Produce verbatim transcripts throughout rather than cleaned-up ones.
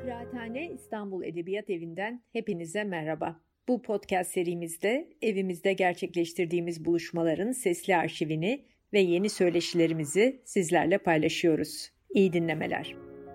Kıraathane İstanbul Edebiyat Evi'nden hepinize merhaba. Bu podcast serimizde evimizde gerçekleştirdiğimiz buluşmaların sesli arşivini ve yeni söyleşilerimizi sizlerle paylaşıyoruz. İyi dinlemeler.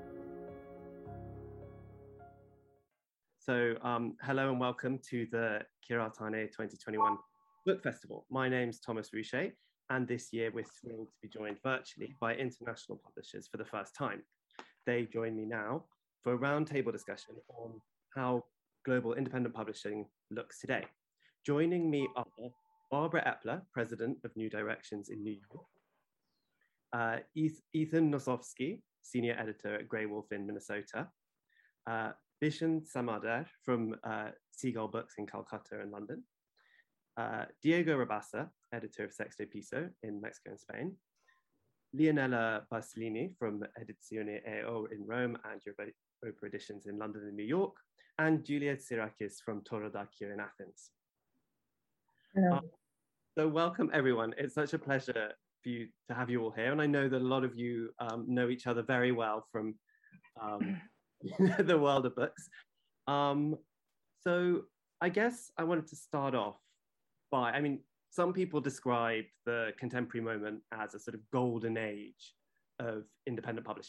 So, um, hello and welcome to the Kıraathane twenty twenty-one Book Festival. My name's Thomas Ruchet, and this year we're thrilled to be joined virtually by international publishers for the first time. They join me now for a roundtable discussion on how global independent publishing looks today. Joining me are Barbara Epler, President of New Directions in New York, uh, Ethan Nosovsky, Senior Editor at Grey Wolf in Minnesota, uh, Bishan Samadar from uh, Seagull Books in Calcutta and London, uh, Diego Rabassa, Editor of Sexto Piso in Mexico and Spain, Leonela Basilini from Edizione E O in Rome and Europa Editions in London and New York, and Julia Tsirakis from Torodakio in Athens. Hello. Uh, so welcome everyone. It's such a pleasure for you to have you all here. And I know that a lot of you um, know each other very well from um, the world of books. Um, so I guess I wanted to start off by, I mean, some people describe the contemporary moment as a sort of golden age of independent publishing.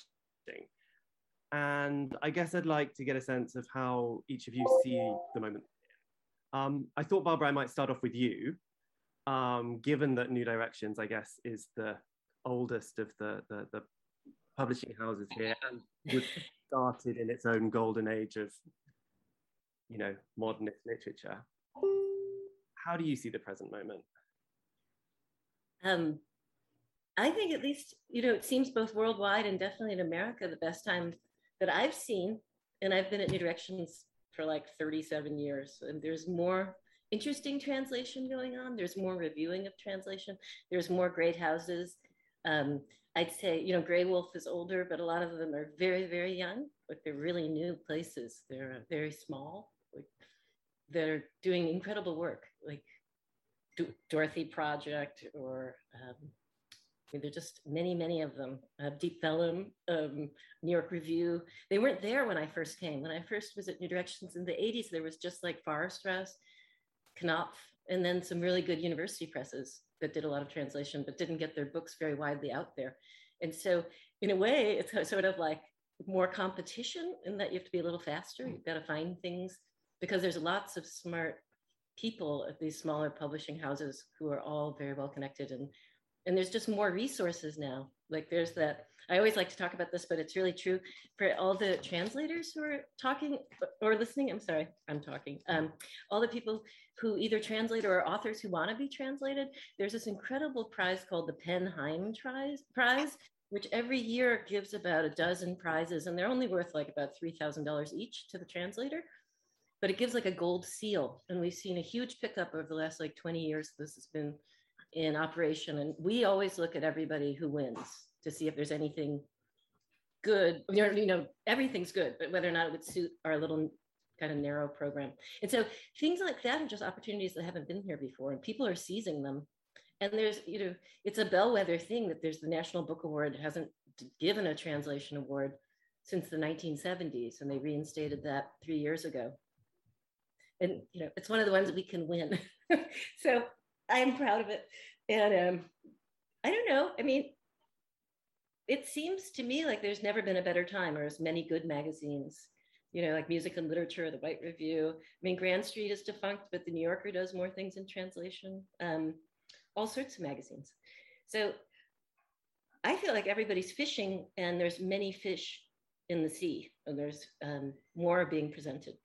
And I guess I'd like to get a sense of how each of you see the moment. Um, I thought, Barbara, I might start off with you, um, given that New Directions, I guess, is the oldest of the, the, the publishing houses here and was started in its own golden age of, you know, modernist literature. How do you see the present moment? Um, I think at least, you know, it seems both worldwide and definitely in America, the best time that I've seen, and I've been at New Directions for like thirty-seven years, and there's more interesting translation going on. There's more reviewing of translation. There's more great houses. Um, I'd say, you know, Grey Wolf is older, but a lot of them are very, very young. Like they're really new places. They're very small. Like they're doing incredible work, like Dorothy Project, or um, I mean, there are just many, many of them. Uh, Deep Vellum, um, New York Review. They weren't there when I first came. When I first was at New Directions in the eighties, there was just like Forrester's, Knopf, and then some really good university presses that did a lot of translation, but didn't get their books very widely out there. And so in a way, it's sort of like more competition in that you have to be a little faster. You've got to find things because there's lots of smart people at these smaller publishing houses who are all very well connected, and and there's just more resources now. Like there's that, I always like to talk about this, but it's really true for all the translators who are talking or listening. I'm sorry, I'm talking. Um, all the people who either translate or are authors who want to be translated. There's this incredible prize called the Penn Heim Prize, which every year gives about a dozen prizes, and they're only worth like about three thousand dollars each to the translator. But it gives like a gold seal. And we've seen a huge pickup over the last like twenty years. This has been in operation. And we always look at everybody who wins to see if there's anything good. You know, everything's good, but whether or not it would suit our little kind of narrow program. And so things like that are just opportunities that haven't been here before, and people are seizing them. And there's, you know, it's a bellwether thing that there's the National Book Award. It hasn't given a translation award since the nineteen seventies, and they reinstated that three years ago. And, you know, it's one of the ones that we can win. So I'm proud of it. And um, I don't know, I mean, it seems to me like there's never been a better time, or as many good magazines, you know, like Music and Literature, the White Review. I mean, Grand Street is defunct, but the New Yorker does more things in translation, um, all sorts of magazines. So I feel like everybody's fishing, and there's many fish in the sea, and there's um, more being presented.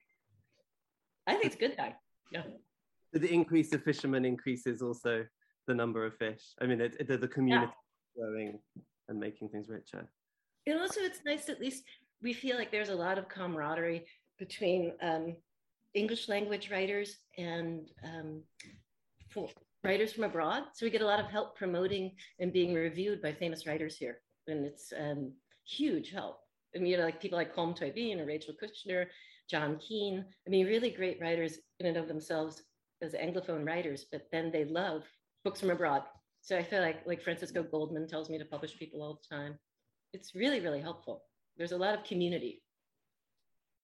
I think it's a good time. Yeah. The increase of fishermen increases also the number of fish. I mean, it, it, the community yeah. growing and making things richer. And also, it's nice, at least we feel like there's a lot of camaraderie between um, English language writers and um, writers from abroad. So we get a lot of help promoting and being reviewed by famous writers here. And it's um, huge help. I mean, you know, like people like Colm Tóibín or Rachel Kushner, John Keane. I mean, really great writers in and of themselves as Anglophone writers, but then they love books from abroad. So I feel like, like Francisco Goldman tells me to publish people all the time. It's really, really helpful. There's a lot of community.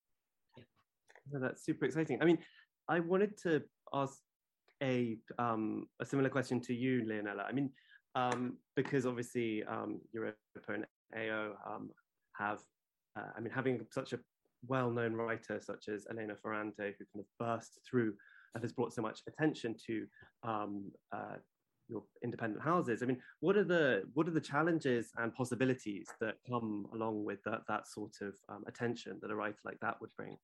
No, that's super exciting. I mean, I wanted to ask a um, a similar question to you, Leonela. I mean, um, because obviously um, Europa and A O um, have, uh, I mean, having such a well-known writer such as Elena Ferrante, who kind of burst through and has brought so much attention to um, uh, your independent houses. I mean, what are the what are the challenges and possibilities that come along with that that sort of um, attention that a writer like that would bring?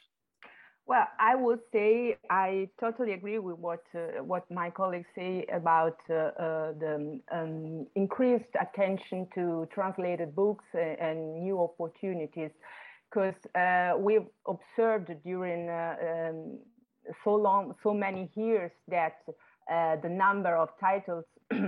Well, I would say I totally agree with what uh, what my colleagues say about uh, uh, the um, increased attention to translated books and, and new opportunities, because uh, we've observed during uh, um, so long, so many years that uh, the number of titles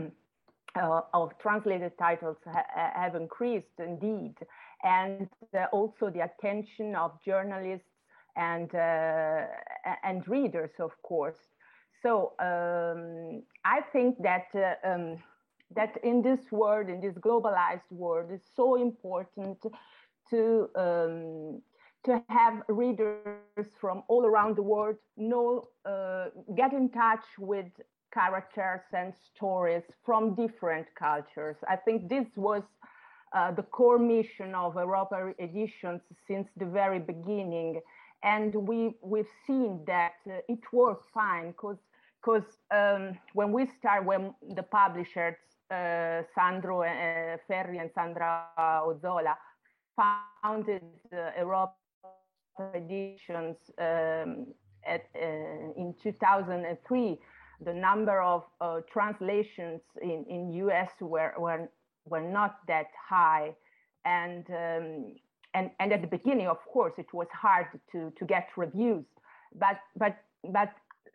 uh, of translated titles ha have increased indeed, and uh, also the attention of journalists and uh, and readers, of course. So um, I think that uh, um, that in this world, in this globalized world, it's so important to um, to have readers from all around the world know, uh, get in touch with characters and stories from different cultures. I think this was uh, the core mission of Europa Editions since the very beginning. And we, we've seen that uh, it works fine, because because um, when we start, when the publishers, uh, Sandro uh, Ferri and Sandra Ozzola, founded uh, Europa Editions um, at, uh, in two thousand three, the number of uh, translations in, in U S were, were, were not that high. And um, And, and at the beginning, of course, it was hard to, to get reviews. But, but, but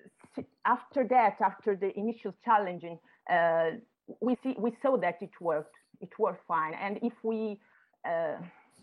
after that, after the initial challenging, uh, we, see, we saw that it worked. It worked fine. And if we, uh,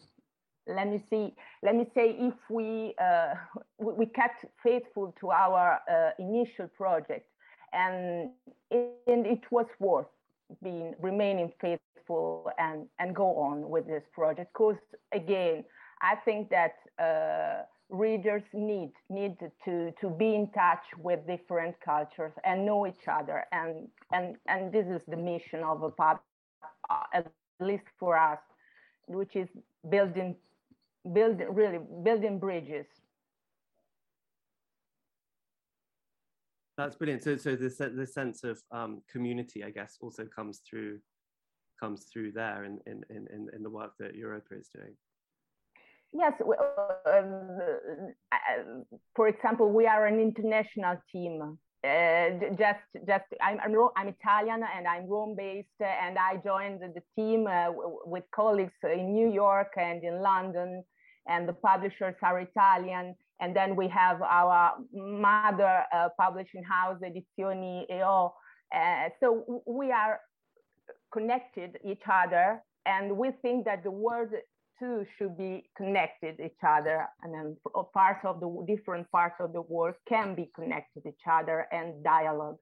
let me see, let me say, if we, uh, we, we kept faithful to our uh, initial project, and it, and it was worth being, remaining faithful and, and go on with this project. Because again, I think that uh, readers need, need to, to be in touch with different cultures and know each other. And, and, and this is the mission of a pub, uh, at least for us, which is building, building really building bridges. That's brilliant. So, so this the sense of um, community, I guess, also comes through comes through there in in in in the work that Europa is doing. Yes, um, for example, we are an international team. Uh, just, just I'm, I'm, I'm Italian and I'm Rome-based, and I joined the team uh, with colleagues in New York and in London, and the publishers are Italian. And then we have our mother uh, publishing house, Edizioni E O. Uh, so we are connected each other, and we think that the world too should be connected each other, and then parts of the different parts of the world can be connected each other and dialogue.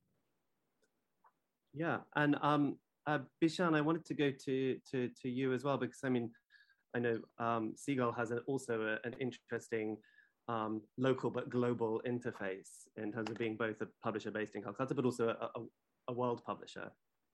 Yeah, and um, uh, Bishan, I wanted to go to to to you as well, because I mean, I know um, Seagull has a, also a, an interesting um, local but global interface in terms of being both a publisher based in Calcutta, but also a, a, a world publisher.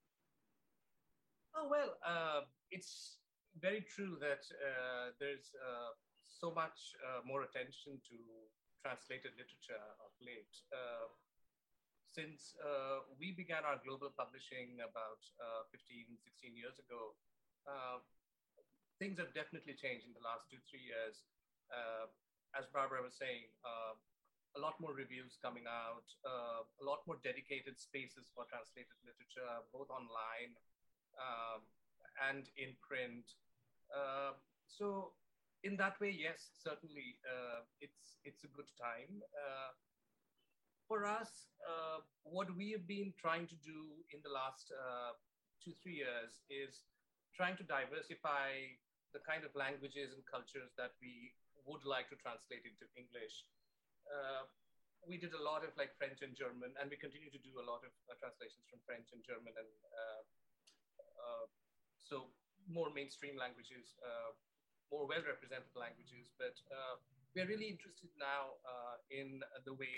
Oh well, uh, it's very true that uh, there's uh, so much uh, more attention to translated literature of late. Uh, since uh, we began our global publishing about uh, fifteen, sixteen years ago, uh, things have definitely changed in the last two, three years. Uh, as Barbara was saying, uh, a lot more reviews coming out, uh, a lot more dedicated spaces for translated literature, both online um, and in print. Uh, so in that way, yes, certainly uh, it's, it's a good time. Uh, for us, uh, what we have been trying to do in the last uh, two, three years is trying to diversify the kind of languages and cultures that we would like to translate into English. Uh, we did a lot of like French and German, and we continue to do a lot of uh, translations from French and German, and uh, uh, so more mainstream languages, uh, more well-represented languages. But uh, we're really interested now uh, in the way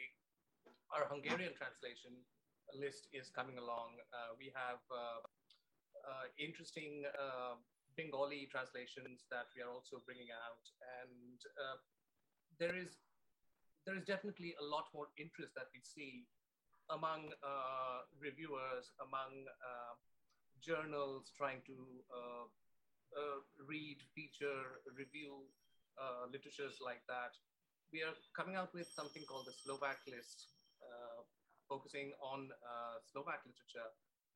our Hungarian translation list is coming along. Uh, we have uh, uh, interesting uh, Bengali translations that we are also bringing out, and uh, there is there is definitely a lot more interest that we see among uh, reviewers, among uh, journals trying to uh, uh, read, feature, review uh, literatures like that. We are coming out with something called the Slovak list, uh, focusing on uh, Slovak literature.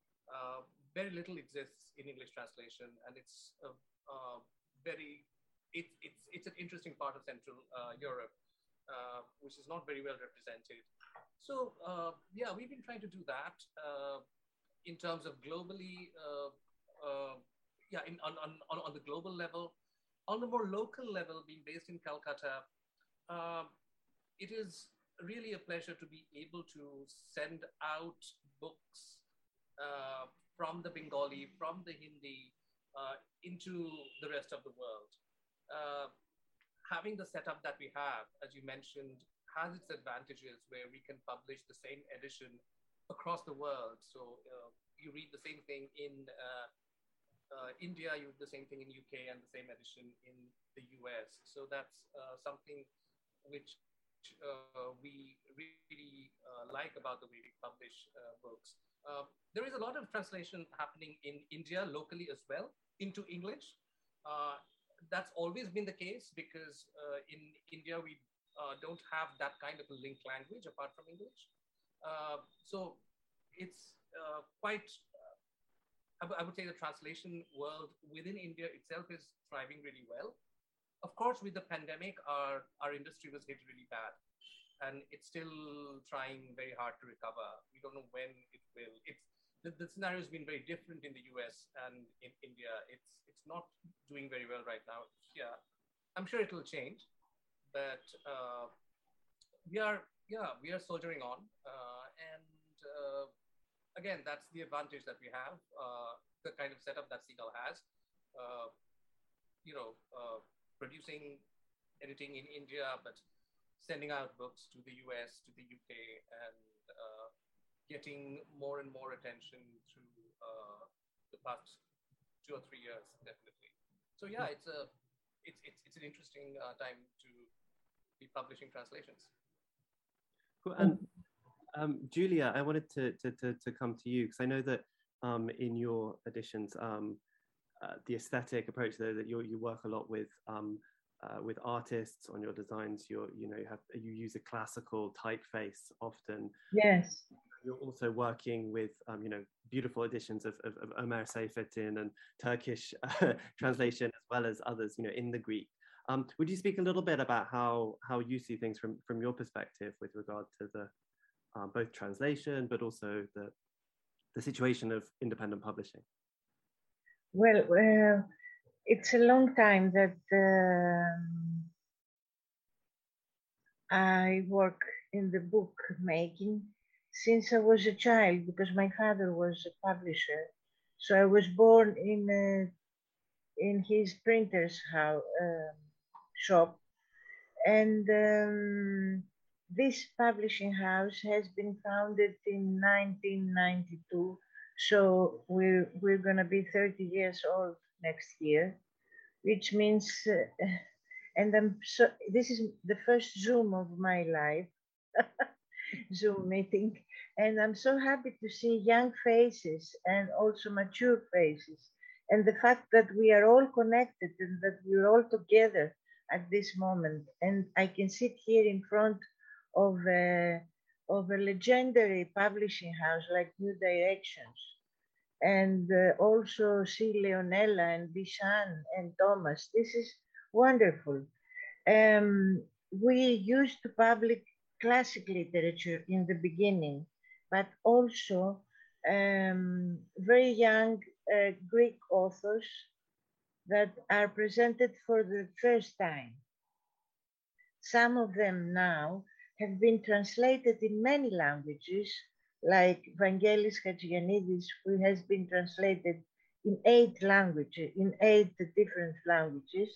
Uh, very little exists in English translation, and it's a, uh, very, it, it's, it's an interesting part of Central uh, Europe, uh, which is not very well represented. So uh, yeah, we've been trying to do that uh, in terms of globally, uh, uh, yeah, in, on, on, on the global level. On the more local level, being based in Calcutta, uh, it is really a pleasure to be able to send out books uh, from the Bengali, from the Hindi, uh, into the rest of the world. Uh, having the setup that we have, as you mentioned, has its advantages where we can publish the same edition across the world. So uh, you read the same thing in uh, uh, India, you read the same thing in U K, and the same edition in the U S. So that's uh, something which uh, we really uh, like about the way we publish uh, books. Uh, there is a lot of translation happening in India locally as well into English. Uh, that's always been the case because uh, in India we uh, don't have that kind of a linked language apart from English. Uh, so it's uh, quite, uh, I, w- I would say the translation world within India itself is thriving really well. Of course, with the pandemic, our, our industry was hit really bad, and it's still trying very hard to recover. We don't know when it will. It's, the, the scenario has been very different in the U S and in India. It's, it's not doing very well right now. Yeah, I'm sure it will change, but uh, we are, yeah, we are soldiering on. Uh, and uh, again, that's the advantage that we have, uh, the kind of setup that Seagull has. Uh, you know, uh, producing, editing in India, but sending out books to the U S, to the U K, and uh, getting more and more attention through uh, the past two or three years, definitely. So yeah, it's a, it's it's, it's an interesting uh, time to be publishing translations. Cool. And um, Julia, I wanted to to to, to come to you because I know that um, in your editions. Um, Uh, the aesthetic approach there that you you work a lot with um, uh, with artists on your designs. You're you know you have you use a classical typeface often. Yes. You're also working with um, you know beautiful editions of, of, of Ömer Seyfettin and Turkish uh, translation as well as others you know in the Greek. Um, would you speak a little bit about how how you see things from from your perspective with regard to the uh, both translation but also the the situation of independent publishing? Well, uh, it's a long time that um, I work in the book making since I was a child, because my father was a publisher. So I was born in uh, in his printer's house, uh, shop, and um, this publishing house has been founded in nineteen ninety-two. So we're, we're going to be thirty years old next year, which means, uh, and I'm so, this is the first Zoom of my life, Zoom meeting. And I'm so happy to see young faces and also mature faces. And the fact that we are all connected and that we're all together at this moment. And I can sit here in front of a, of a legendary publishing house like New Directions, and uh, also see Leonella and Bishan and Thomas. This is wonderful. Um, we used to publish classic literature in the beginning, but also um, very young uh, Greek authors that are presented for the first time. Some of them now have been translated in many languages, like Vangelis Chagiannidis, who has been translated in eight languages, in eight different languages,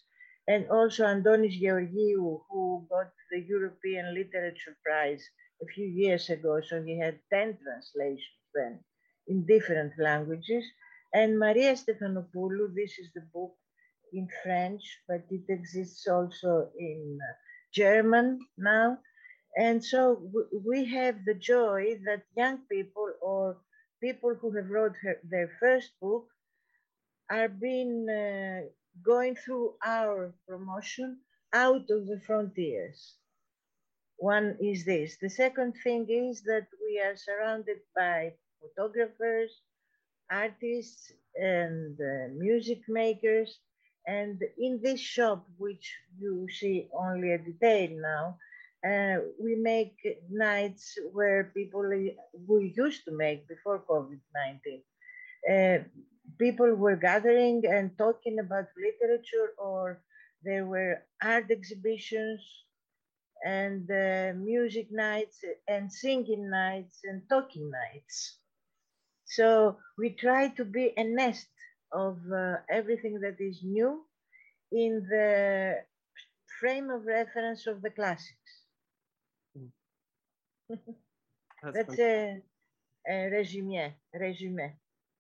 and also Andonis Georgiou, who got the European Literature Prize a few years ago. So he had ten translations then in different languages. And Maria Stefanopoulou, this is the book in French, but it exists also in German now. And so we have the joy that young people or people who have wrote her, their first book are being uh, going through our promotion out of the frontiers. One is this. The second thing is that we are surrounded by photographers, artists, and uh, music makers. And in this shop, which you see only a detail now, uh, we make nights where people we used to make before COVID nineteen. Uh, people were gathering and talking about literature, or there were art exhibitions and uh, music nights and singing nights and talking nights. So we try to be a nest of uh, everything that is new in the frame of reference of the classics. That's, That's a, a resume. resume.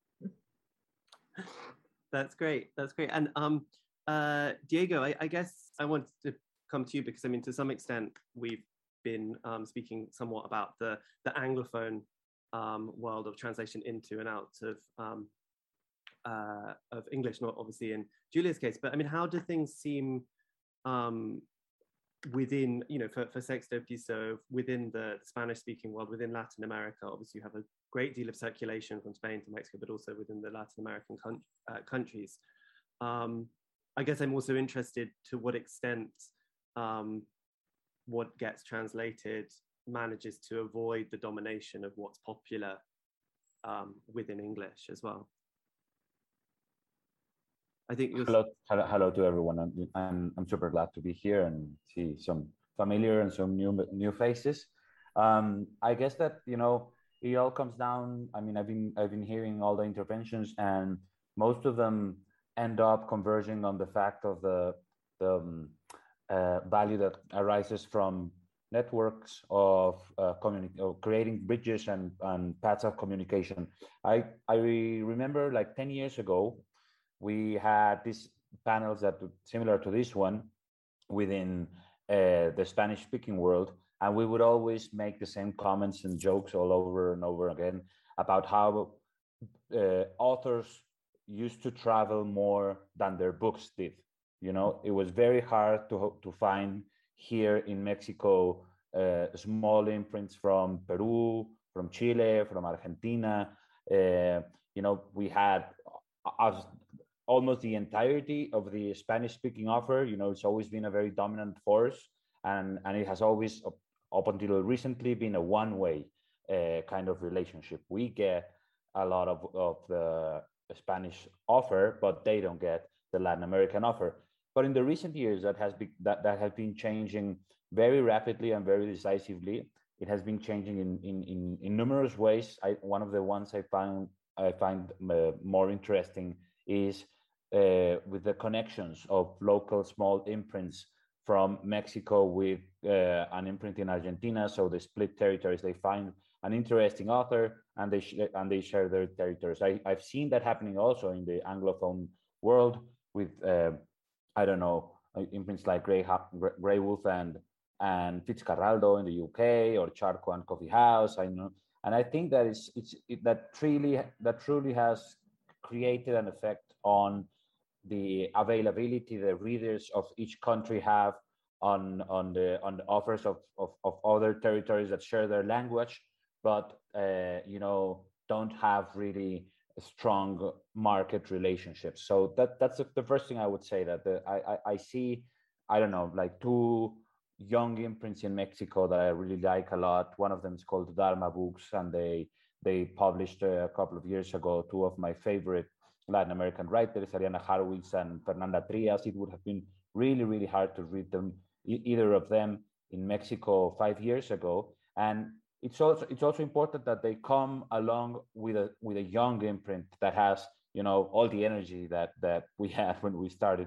That's great. That's great. And um, uh, Diego, I, I guess I wanted to come to you because, I mean, to some extent, we've been um, speaking somewhat about the, the Anglophone um, world of translation into and out of um, uh, of English, not obviously in Julia's case, but I mean, how do things seem um, within, you know, for, for Sexto Piso, within the Spanish-speaking world, within Latin America? Obviously, you have a great deal of circulation from Spain to Mexico, but also within the Latin American con- uh, countries. Um, I guess I'm also interested to what extent um, what gets translated manages to avoid the domination of what's popular um, within English as well. I think you're... hello, hello, hello to everyone. I'm, I'm, I'm super glad to be here and see some familiar and some new new faces. Um, I guess that, you know, it all comes down. I mean, I've been I've been hearing all the interventions, and most of them end up converging on the fact of the the um, uh, value that arises from networks of uh, communi- of creating bridges and, and paths of communication. I I remember like ten years ago, we had these panels that were similar to this one within uh, the Spanish-speaking world, and we would always make the same comments and jokes all over and over again about how uh, authors used to travel more than their books did. You know, it was very hard to to find here in Mexico uh, small imprints from Peru, from Chile, from Argentina. Uh, you know, we had as almost the entirety of the Spanish-speaking offer. You know, it's always been a very dominant force, and and it has always, up, up until recently, been a one-way uh, kind of relationship. We get a lot of, of the Spanish offer, but they don't get the Latin American offer. But in the recent years, that has been that, that has been changing very rapidly and very decisively. It has been changing in in in, in numerous ways. I, one of the ones I find I find uh, more interesting is uh, with the connections of local small imprints from Mexico with uh, an imprint in Argentina. So they split territories. They find an interesting author and they sh- and they share their territories. I, I've seen that happening also in the Anglophone world with uh, I don't know, imprints like Grey, Grey Wolf and and Fitzcarraldo in the U K, or Charco and Coffee House. I know, and I think that it's it's it, that truly that truly has created an effect on the availability the readers of each country have on on the on the offers of of, of other territories that share their language, but uh, you know, don't have really strong market relationships. So that that's the first thing I would say, that the, I, I I see, I don't know, like two young imprints in Mexico that I really like a lot. One of them is called Dharma Books, and they they published a couple of years ago two of my favorite Latin American writers, Ariana Harwitz and Fernanda Trias. It would have been really, really hard to read them, e- either of them, in Mexico five years ago. And it's also it's also important that they come along with a with a young imprint that has, you know, all the energy that that we had when we started.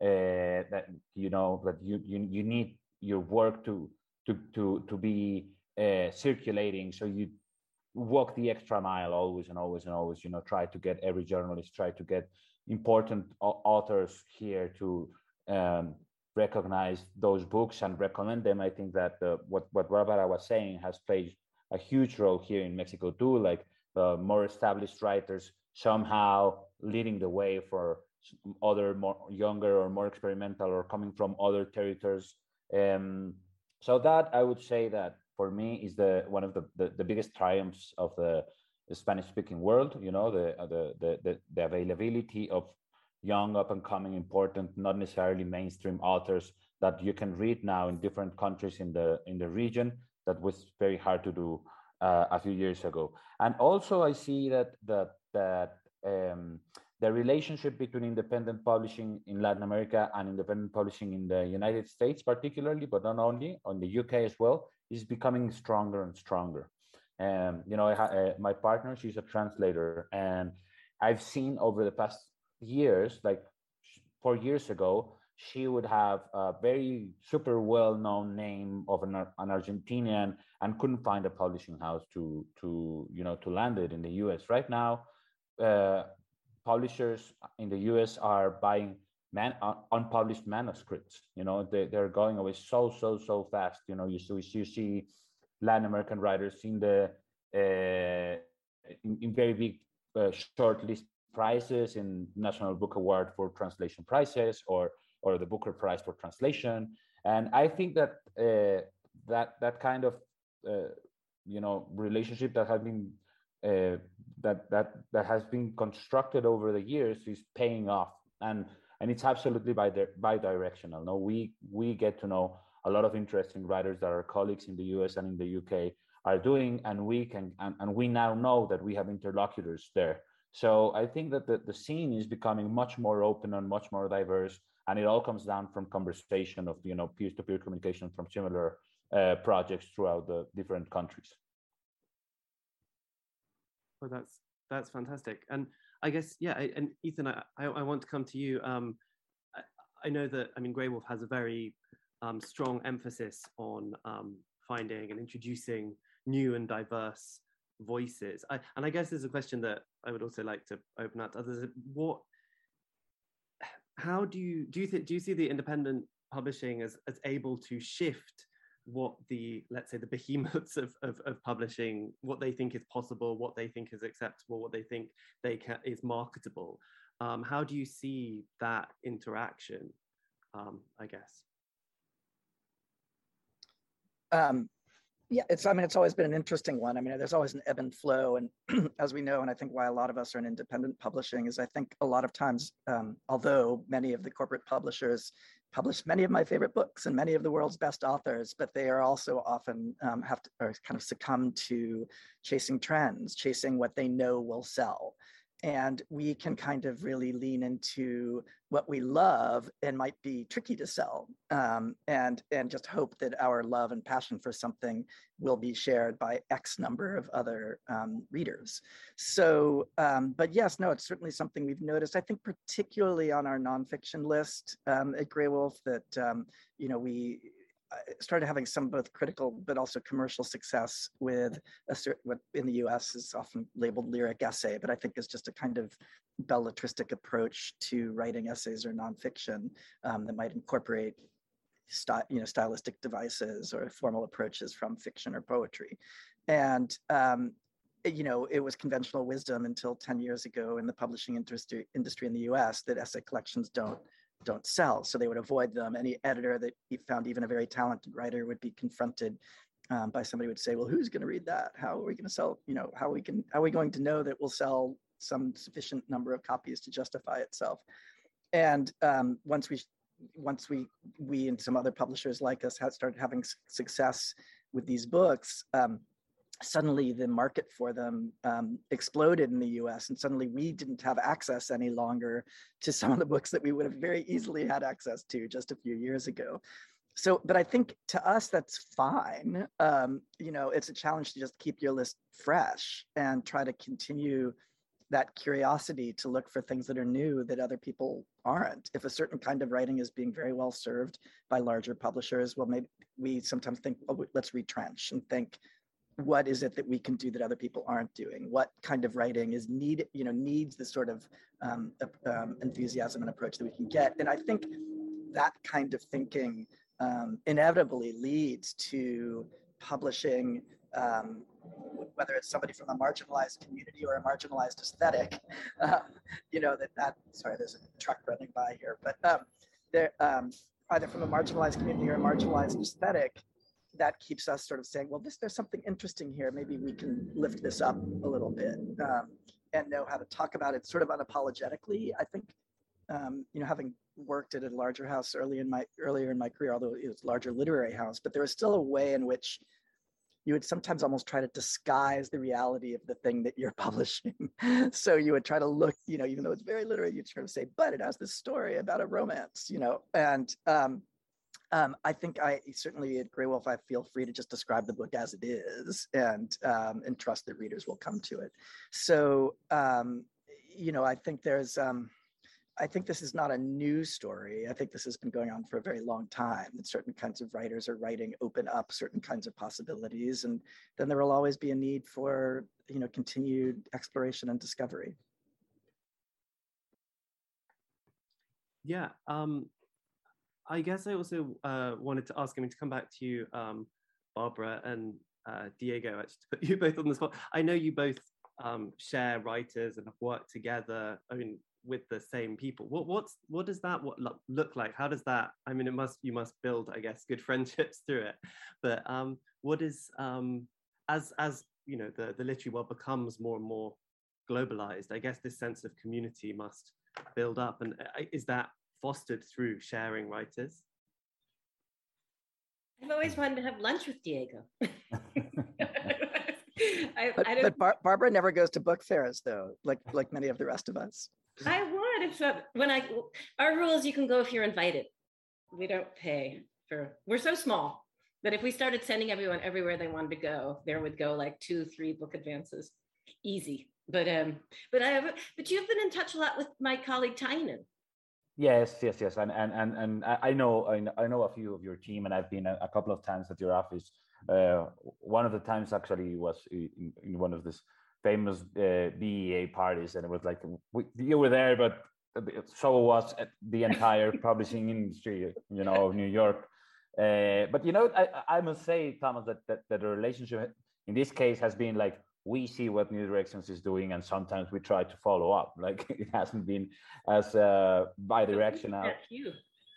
uh, that you know that you you, you need your work to to to to be uh, circulating. So you walk the extra mile always and always and always. You know, try to get every journalist, try to get important authors here to um, recognize those books and recommend them. I think that uh, what what Barbara was saying has played a huge role here in Mexico too. Like uh, more established writers somehow leading the way for other more younger or more experimental or coming from other territories. Um, so that I would say that for me is the one of the, the, the biggest triumphs of the, the Spanish-speaking world. You know, the, the the the the availability of young, up-and-coming, important, not necessarily mainstream authors that you can read now in different countries in the in the region. That was very hard to do uh, a few years ago. And also, I see that that that um, the relationship between independent publishing in Latin America and independent publishing in the United States, particularly, but not only, on the U K as well, is becoming stronger and stronger. And you know, I ha- uh, my partner, she's a translator, and I've seen over the past years, like four years ago, she would have a very super well-known name of an, an Argentinian and couldn't find a publishing house to to you know to land it in the U S. Right now, uh, publishers in the U S are buying man, uh, unpublished manuscripts. You know, they, they're going away so so so fast. You know, you see you see Latin American writers in the uh, in, in very big uh, shortlist prizes in National Book Award for translation prizes, or or the Booker Prize for translation. And I think that uh, that that kind of uh, you know relationship that has been uh, that that that has been constructed over the years is paying off, and and it's absolutely bi bi-directional. No, we we get to know a lot of interesting writers that our colleagues in the U S and in the U K are doing, and we can and, and we now know that we have interlocutors there. So I think that the, the scene is becoming much more open and much more diverse, and it all comes down from conversation of you know peer-to-peer communication from similar uh, projects throughout the different countries. Well, that's that's fantastic, and I guess yeah. And Ethan, I I, I want to come to you. Um, I, I know that I mean Graywolf has a very um, strong emphasis on um, finding and introducing new and diverse voices. I, and I guess there's a question that I would also like to open up to others. What, how do you do you think do you see the independent publishing as as able to shift what the, let's say, the behemoths of, of, of publishing, what they think is possible, what they think is acceptable, what they think they can is marketable? Um, how do you see that interaction? Um, I guess. Um, yeah, it's, I mean, it's always been an interesting one. I mean, there's always an ebb and flow. And as we know, and I think why a lot of us are in independent publishing is I think a lot of times, um, although many of the corporate publishers publish many of my favorite books and many of the world's best authors, but they are also often um, have to or kind of succumb to chasing trends, chasing what they know will sell. And we can kind of really lean into what we love and might be tricky to sell, um, and, and just hope that our love and passion for something will be shared by X number of other um, readers. So, um, but yes, no, it's certainly something we've noticed. I think particularly on our nonfiction list um, at Graywolf that, um, you know, we, started having some both critical but also commercial success with a certain, what in the U S is often labeled lyric essay, but I think is just a kind of belletristic approach to writing essays or nonfiction um, that might incorporate sty- you know, stylistic devices or formal approaches from fiction or poetry. And um, you know, it was conventional wisdom until ten years ago in the publishing industry, industry in the U S that essay collections don't don't sell. So they would avoid them. Any editor that he found, even a very talented writer, would be confronted um, by somebody who would say, well, who's going to read that? How are we going to sell, you know, how we can, how are we going to know that we'll sell some sufficient number of copies to justify itself? And um, once we, once we, we and some other publishers like us had started having success with these books, um, suddenly the market for them um, exploded in the U S, and suddenly we didn't have access any longer to some of the books that we would have very easily had access to just a few years ago. So, but I think to us, that's fine. Um, you know, it's a challenge to just keep your list fresh and try to continue that curiosity to look for things that are new that other people aren't. If a certain kind of writing is being very well served by larger publishers, well, maybe we sometimes think, oh, let's retrench and think, what is it that we can do that other people aren't doing? What kind of writing is needed, you know, needs the sort of um, um, enthusiasm and approach that we can get? And I think that kind of thinking um, inevitably leads to publishing, um, whether it's somebody from a marginalized community or a marginalized aesthetic, uh, you know, that, that, sorry, there's a truck running by here, but um, they're um, either from a marginalized community or a marginalized aesthetic, that keeps us sort of saying, well, this, there's something interesting here. Maybe we can lift this up a little bit um, and know how to talk about it sort of unapologetically. I think, um, you know, having worked at a larger house early in my, earlier in my career, although it was a larger literary house, but there was still a way in which you would sometimes almost try to disguise the reality of the thing that you're publishing. So you would try to look, you know, even though it's very literary, you'd try to say, but it has this story about a romance, you know, and um, um, I think I certainly at Graywolf, I feel free to just describe the book as it is and, um, and trust that readers will come to it. So, um, you know, I think there's, um, I think this is not a new story. I think this has been going on for a very long time, that certain kinds of writers are writing open up certain kinds of possibilities. And then there will always be a need for, you know, continued exploration and discovery. Yeah, um, I guess I also uh, wanted to ask, I mean, to come back to you, um, Barbara and uh, Diego, actually, to put you both on the spot. I know you both um, share writers and have worked together. I mean, with the same people. What what's what does that what look, look like? How does that? I mean, it must you must build, I guess, good friendships through it. But um, what is um, as as you know the the literary world becomes more and more globalized, I guess this sense of community must build up. And is that fostered through sharing writers? I've always wanted to have lunch with Diego. I, but I don't, but Bar Barbara never goes to book fairs, though, like like many of the rest of us. I would if uh, when I our rule is you can go if you're invited. We don't pay for. We're so small that if we started sending everyone everywhere they wanted to go, there would go like two, three book advances, easy. But um, but I but you've been in touch a lot with my colleague Tynan. Yes, yes, yes, and and and and I know I know a few of your team, and I've been a, a couple of times at your office. Uh, one of the times actually was in, in one of these famous uh, B E A parties, and it was like we, you were there, but so was the entire publishing industry, you know, of New York. Uh, but you know, I, I must say, Thomas, that, that that the relationship in this case has been like, we see what New Directions is doing, and sometimes we try to follow up. Like it hasn't been as uh, bi-directional. That's you.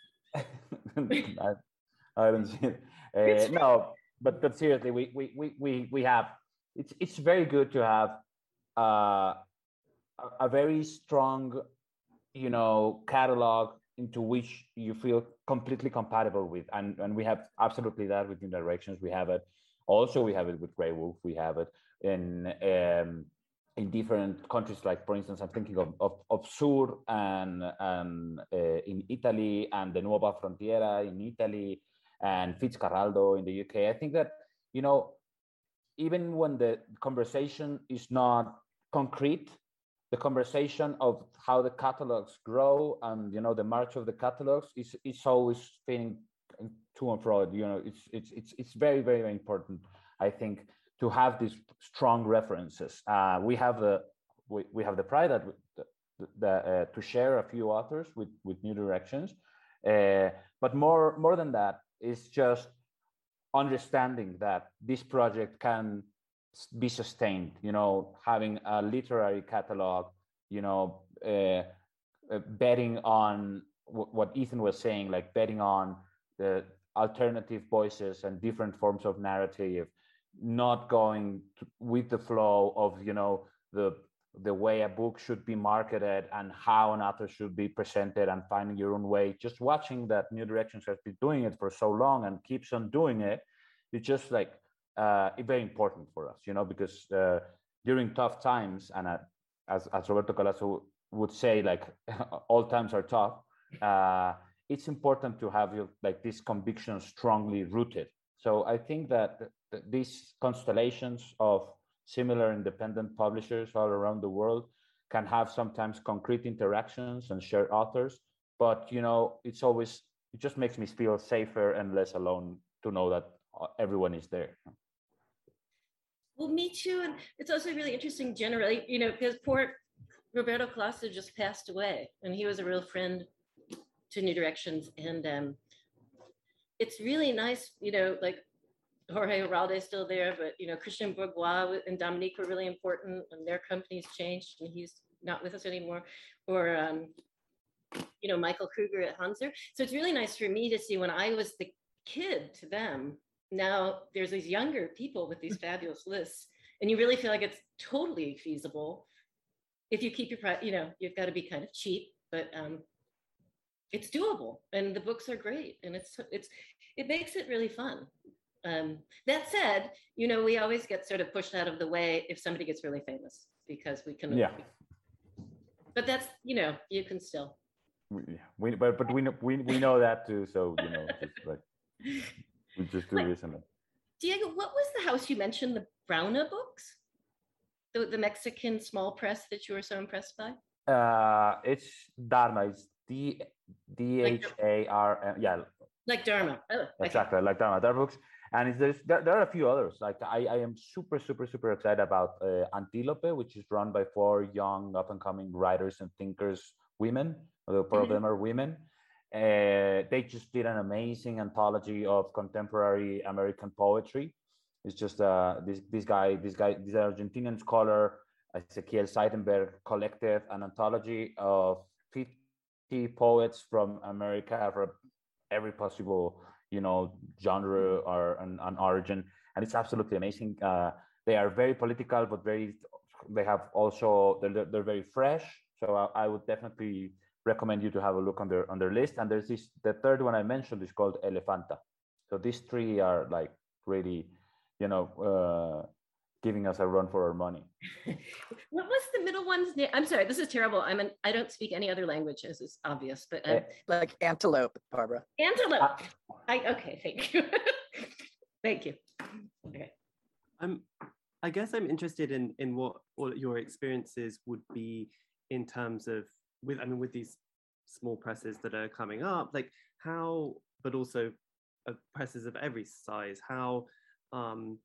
I, I haven't seen it. Uh, no, but but seriously, we we we we we have. It's it's very good to have uh, a, a very strong, you know, catalog into which you feel completely compatible with, and and we have absolutely that with New Directions. We have it. Also, we have it with Graywolf. We have it in um, in different countries, like for instance, I'm thinking of of, of Sur and and uh, in Italy, and the Nuova Frontiera in Italy, and Fitzcarraldo in the U K. I think that, you know, even when the conversation is not concrete, the conversation of how the catalogs grow and, you know, the march of the catalogs is is always spinning to and fro. You know, it's it's it's it's very very very important, I think, to have these strong references. Uh, we have the we, we have the pride that the, the, uh, to share a few authors with with New Directions, uh, but more more than that is just understanding that this project can be sustained. You know, having a literary catalog. You know, uh, uh, betting on w what Ethan was saying, like betting on the alternative voices and different forms of narrative, not going to, with the flow of, you know, the the way a book should be marketed and how an author should be presented, and finding your own way. Just watching that New Directions has been doing it for so long and keeps on doing it, it's just like uh, very important for us, you know, because uh, during tough times, and uh, as, as Roberto Colasso would say, like all times are tough, uh, it's important to have your, like this conviction strongly rooted. So I think that th th these constellations of similar independent publishers all around the world can have sometimes concrete interactions and share authors, but you know, it's always, it just makes me feel safer and less alone to know that everyone is there. Well, me too. And it's also really interesting generally, you know, because poor Roberto Colaço just passed away, and he was a real friend to New Directions. And um, it's really nice, you know, like Jorge Heralde is still there, but, you know, Christian Bourgois and Dominique were really important, and their companies changed, and he's not with us anymore. Or, um, you know, Michael Kruger at Hanser. So it's really nice for me to see when I was the kid to them, now there's these younger people with these fabulous lists, and you really feel like it's totally feasible if you keep your price. You know, you've got to be kind of cheap, but um, it's doable, and the books are great, and it's it's it makes it really fun. Um, that said, you know, we always get sort of pushed out of the way if somebody gets really famous, because we can. Yeah. But that's, you know, you can still. Yeah, we but but we know we we know that too. So you know, just like. We just do Wait, this and that. Diego, what was the house you mentioned, the Brauna books? The, the Mexican small press that you were so impressed by? Uh, it's Dharma. It's D D H A R M. Yeah. Like Dharma. Oh, okay. Exactly, like Dharma. Dharma books. And it's, there's, there, there are a few others. Like I, I am super, super, super excited about uh, Antilope, which is run by four young, up-and-coming writers and thinkers, women. Although four mm-hmm. of them are women. Uh, they just did an amazing anthology of contemporary American poetry. It's just uh, this this guy, this guy, this Argentinian scholar, Ezequiel Seidenberg, collected an anthology of fifty poets from America, from every possible, you know, genre or an, an origin, and it's absolutely amazing. Uh, they are very political, but very. They have also they're they're very fresh. So I, I would definitely recommend you to have a look on their on their list. And there's this, the third one I mentioned is called Elefanta. So these three are like really, you know, uh, giving us a run for our money. What was the middle one's name? I'm sorry, this is terrible. I'm an, I don't speak any other language, as is obvious, but um, like Antelope, Barbara. Antelope. Uh, I okay, thank you. Thank you. Okay. I'm. I guess I'm interested in in what all your experiences would be in terms of with I mean with these small presses that are coming up, like how, but also uh, presses of every size, how um,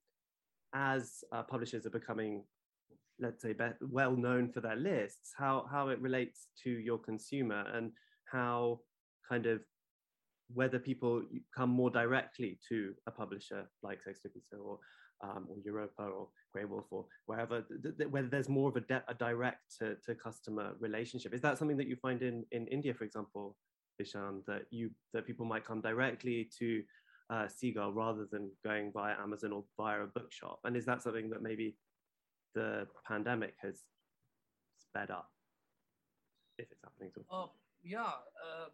as uh, publishers are becoming, let's say, be- well known for their lists, how how it relates to your consumer, and how kind of whether people come more directly to a publisher like Sexto Piso or um, or Europa or Grey Wolf or wherever, th- th- whether there's more of a, de- a direct to, to customer relationship. Is that something that you find in, in India, for example, Ishan, that you that people might come directly to uh, Seagull rather than going via Amazon or via a bookshop? And is that something that maybe the pandemic has sped up, if it's happening to? Uh, yeah, uh,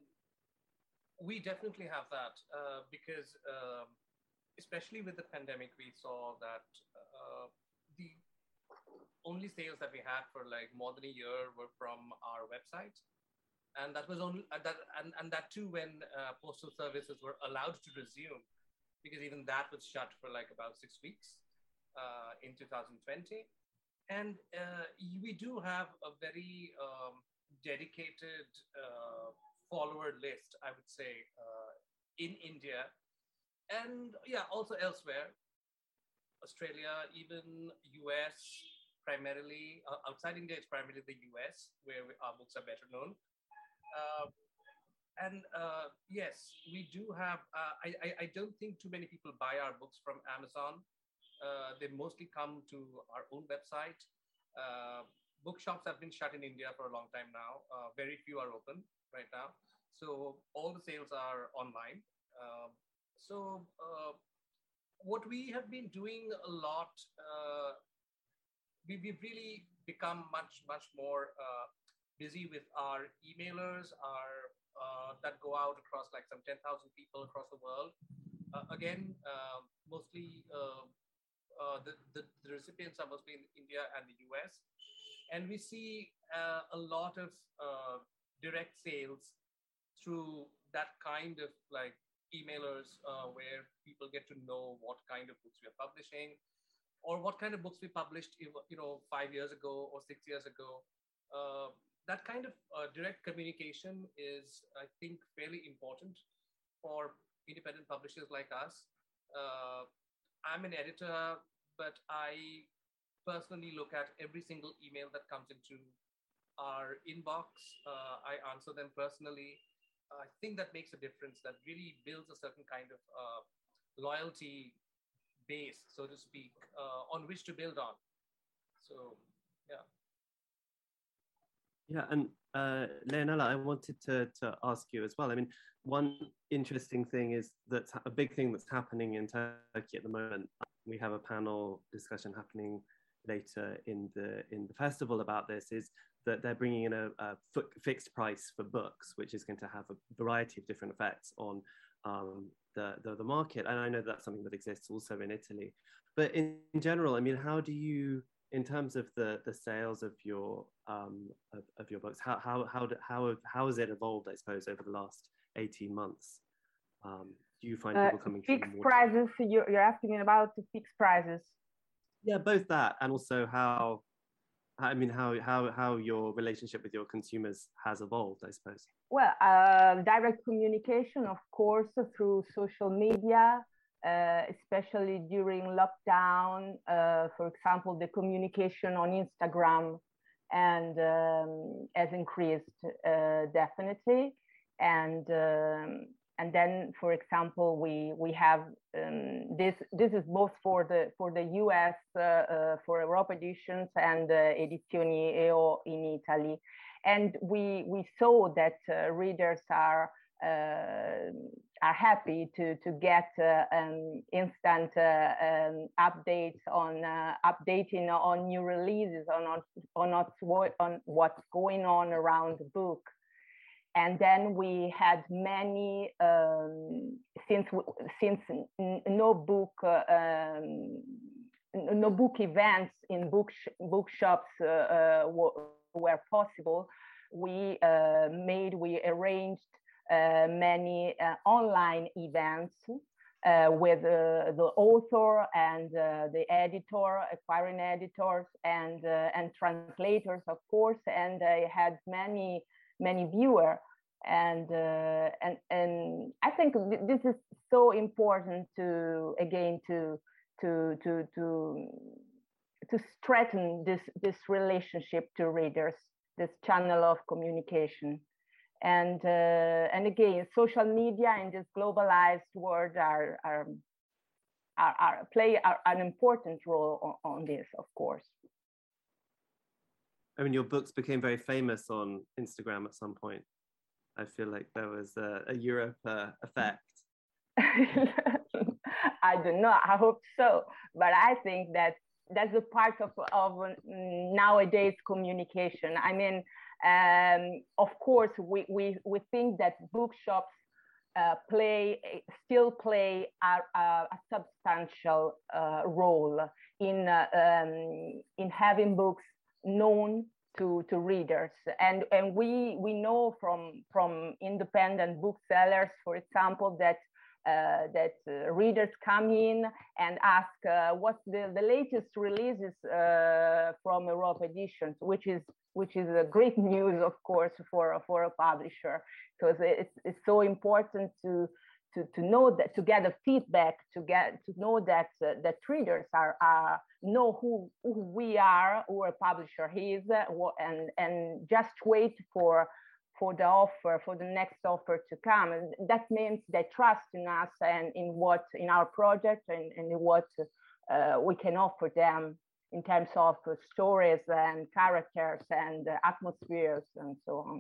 we definitely have that uh, because. Um, Especially with the pandemic, we saw that uh, the only sales that we had for like more than a year were from our website, and that was only uh, that, and, and that too when uh, postal services were allowed to resume, because even that was shut for like about six weeks uh, in two thousand twenty. And uh, we do have a very um, dedicated uh, follower list, I would say, uh, in India. And yeah, also elsewhere, Australia, even U S, primarily, uh, outside India, it's primarily the U S, where we, our books are better known. Uh, and uh, yes, we do have, uh, I, I, I don't think too many people buy our books from Amazon. Uh, they mostly come to our own website. Uh, bookshops have been shut in India for a long time now. Uh, very few are open right now. So all the sales are online. Uh, So uh, what we have been doing a lot, uh, we, we've really become much, much more uh, busy with our emailers, our uh, that go out across like some ten thousand people across the world. Uh, again, uh, mostly uh, uh, the, the, the recipients are mostly in India and the U S. And we see uh, a lot of uh, direct sales through that kind of like emailers uh, where people get to know what kind of books we are publishing or what kind of books we published, you know, five years ago or six years ago. Uh, that kind of uh, direct communication is, I think, fairly important for independent publishers like us. Uh, I'm an editor, but I personally look at every single email that comes into our inbox. Uh, I answer them personally. I think that makes a difference. That really builds a certain kind of uh, loyalty base, so to speak, uh, on which to build on. So, yeah. Yeah, and uh, Leonela, I wanted to, to ask you as well. I mean, one interesting thing is that a big thing that's happening in Turkey at the moment. We have a panel discussion happening later in the in the festival about this. Is that they're bringing in a, a fixed price for books, which is going to have a variety of different effects on um, the, the the market. And I know that's something that exists also in Italy. But in, in general, I mean, how do you, in terms of the the sales of your um, of, of your books, how how how how how has it evolved? I suppose over the last eighteen months, um, do you find people uh, coming fixed more prices? You're, you're asking about the fixed prices. Yeah, both that and also how. I mean, how how how your relationship with your consumers has evolved, I suppose. Well, uh, direct communication, of course, through social media. Uh, especially during lockdown, uh, for example, the communication on Instagram and um, has increased uh, definitely, and um, and then, for example, we we have um, this. This is both for the for the U S uh, uh, for Europa editions and uh, Edizioni E O in Italy, and we we saw that uh, readers are. Uh, are happy to to get uh, um, instant uh, um, updates on uh, updating on new releases on on on what's, on what's going on around the book. And then we had many um, since since no book uh, um, no book events in book bookshops uh, uh, were possible. We uh, made we arranged. Uh, many uh, online events uh, with uh, the author and uh, the editor, acquiring editors and uh, and translators, of course, and I had many many viewers, and uh, and and I think this is so important to again to to to to to strengthen this this relationship to readers, this channel of communication. And uh, and again, social media in this globalized world are are, are, are play are, an important role on, on this, of course. I mean, your books became very famous on Instagram at some point. I feel like there was a, a Europe uh, effect. I don't know. I hope so, but I think that that's a part of of nowadays communication. I mean. Um, of course, we, we, we think that bookshops uh, play still play a, a, a substantial uh, role in uh, um, in having books known to, to readers, and and we we know from from independent booksellers, for example, that. Uh, that uh, readers come in and ask uh, what's the, the latest releases uh, from Europa editions, which is which is a great news, of course, for for a publisher, because it's it's so important to to to know that, to get a feedback, to get to know that uh, that readers are are know who, who we are, who a publisher is, uh, and and just wait for. for the offer, for the next offer to come. And that means they trust in us and in what, in our project and, and in what uh, we can offer them in terms of uh, stories and characters and uh, atmospheres and so on.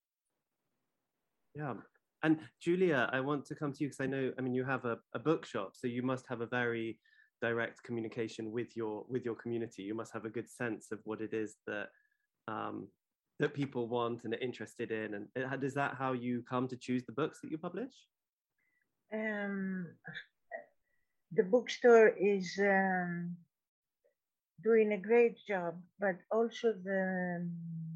Yeah. And Julia, I want to come to you because I know, I mean, you have a, a bookshop, so you must have a very direct communication with your, with your community. You must have a good sense of what it is that, um, that people want and are interested in, and is that how you come to choose the books that you publish? Um, the bookstore is um, doing a great job, but also the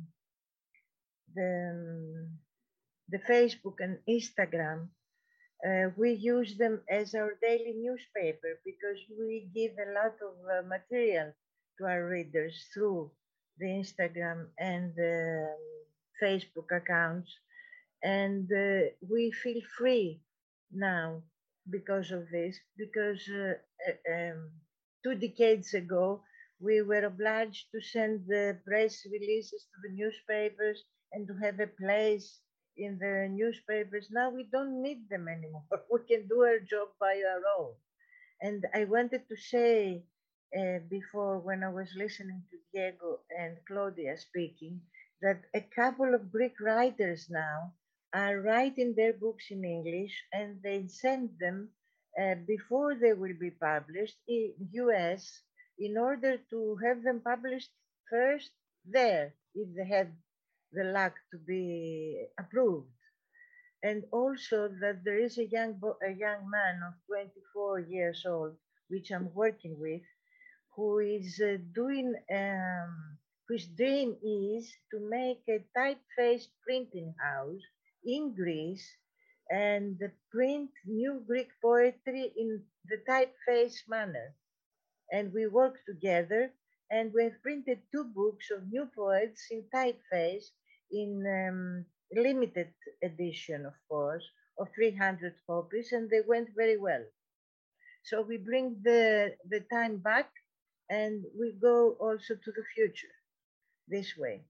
the the Facebook and Instagram. Uh, we use them as our daily newspaper because we give a lot of uh, material to our readers through the Instagram and the Facebook accounts, and uh, we feel free now because of this, because uh, uh, um, two decades ago, we were obliged to send the press releases to the newspapers and to have a place in the newspapers. Now we don't need them anymore. We can do our job by our own. And I wanted to say uh, before, when I was listening to Diego and Claudia speaking, that a couple of Greek writers now are writing their books in English, and they send them uh, before they will be published in U S in order to have them published first there, if they have the luck to be approved. And also that there is a young bo- a young man of twenty-four years old, which I'm working with, who is uh, doing um, whose dream is to make a typeface printing house in Greece and print new Greek poetry in the typeface manner. And we work together, and we have printed two books of new poets in typeface in um, limited edition, of course, of three hundred copies, and they went very well. So we bring the, the time back, and we go also to the future this way.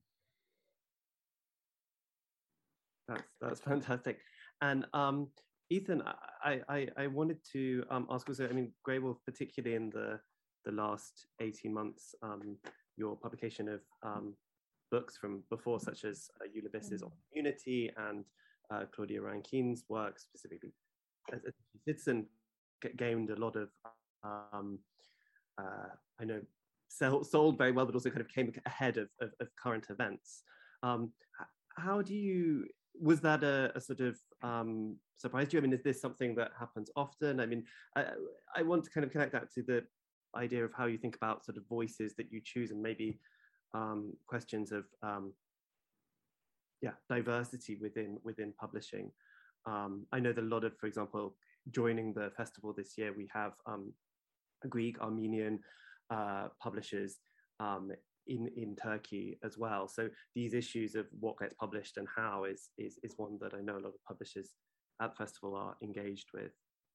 That's that's fantastic. And um, Ethan, I, I, I wanted to um, ask also, I mean, Grey Wolf, particularly in the, the last eighteen months, um, your publication of um, books from before, such as uh, Ulysses on Community and uh, Claudia Rankine's work, specifically as a citizen, gained a lot of, um, uh, I know, sell, sold very well, but also kind of came ahead of, of, of current events. Um, how do you, was that a, a sort of um, surprise to you? I mean, is this something that happens often? I mean, I, I want to kind of connect that to the idea of how you think about sort of voices that you choose, and maybe um, questions of um, yeah, diversity within within publishing. Um, I know that a lot of, for example, joining the festival this year, we have um, Greek, Armenian uh, publishers um, in in Turkey as well. So these issues of what gets published and how is is is one that I know a lot of publishers at the festival are engaged with.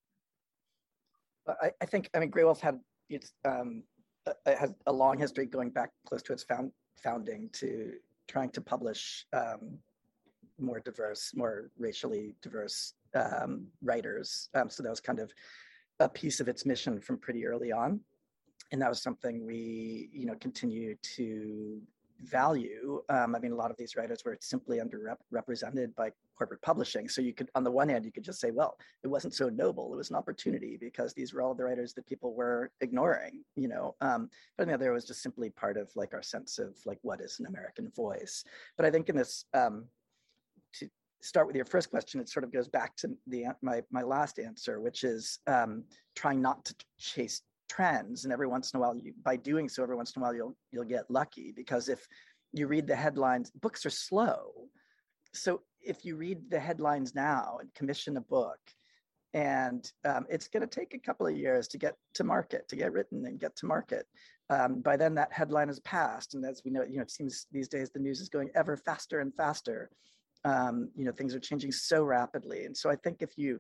I, I think I mean Grey Wolf had it's um, it has a long history going back close to its found, founding to trying to publish um, more diverse, more racially diverse um, writers. Um, so that was kind of a piece of its mission from pretty early on. And that was something we, you know, continue to value. Um, I mean, a lot of these writers were simply underrepresented by corporate publishing. So you could, on the one hand, you could just say, well, it wasn't so noble. It was an opportunity because these were all the writers that people were ignoring, you know. Um, but on the other, it was just simply part of like our sense of like, what is an American voice? But I think in this, um, to start with your first question, it sort of goes back to the my my last answer, which is um, trying not to chase trends, and every once in a while, you, by doing so, every once in a while you'll you'll get lucky, because if you read the headlines, books are slow. So if you read the headlines now and commission a book, and um, it's going to take a couple of years to get to market, to get written and get to market. Um, by then, that headline has passed, and as we know, you know, it seems these days the news is going ever faster and faster. Um, you know, things are changing so rapidly, and so I think if you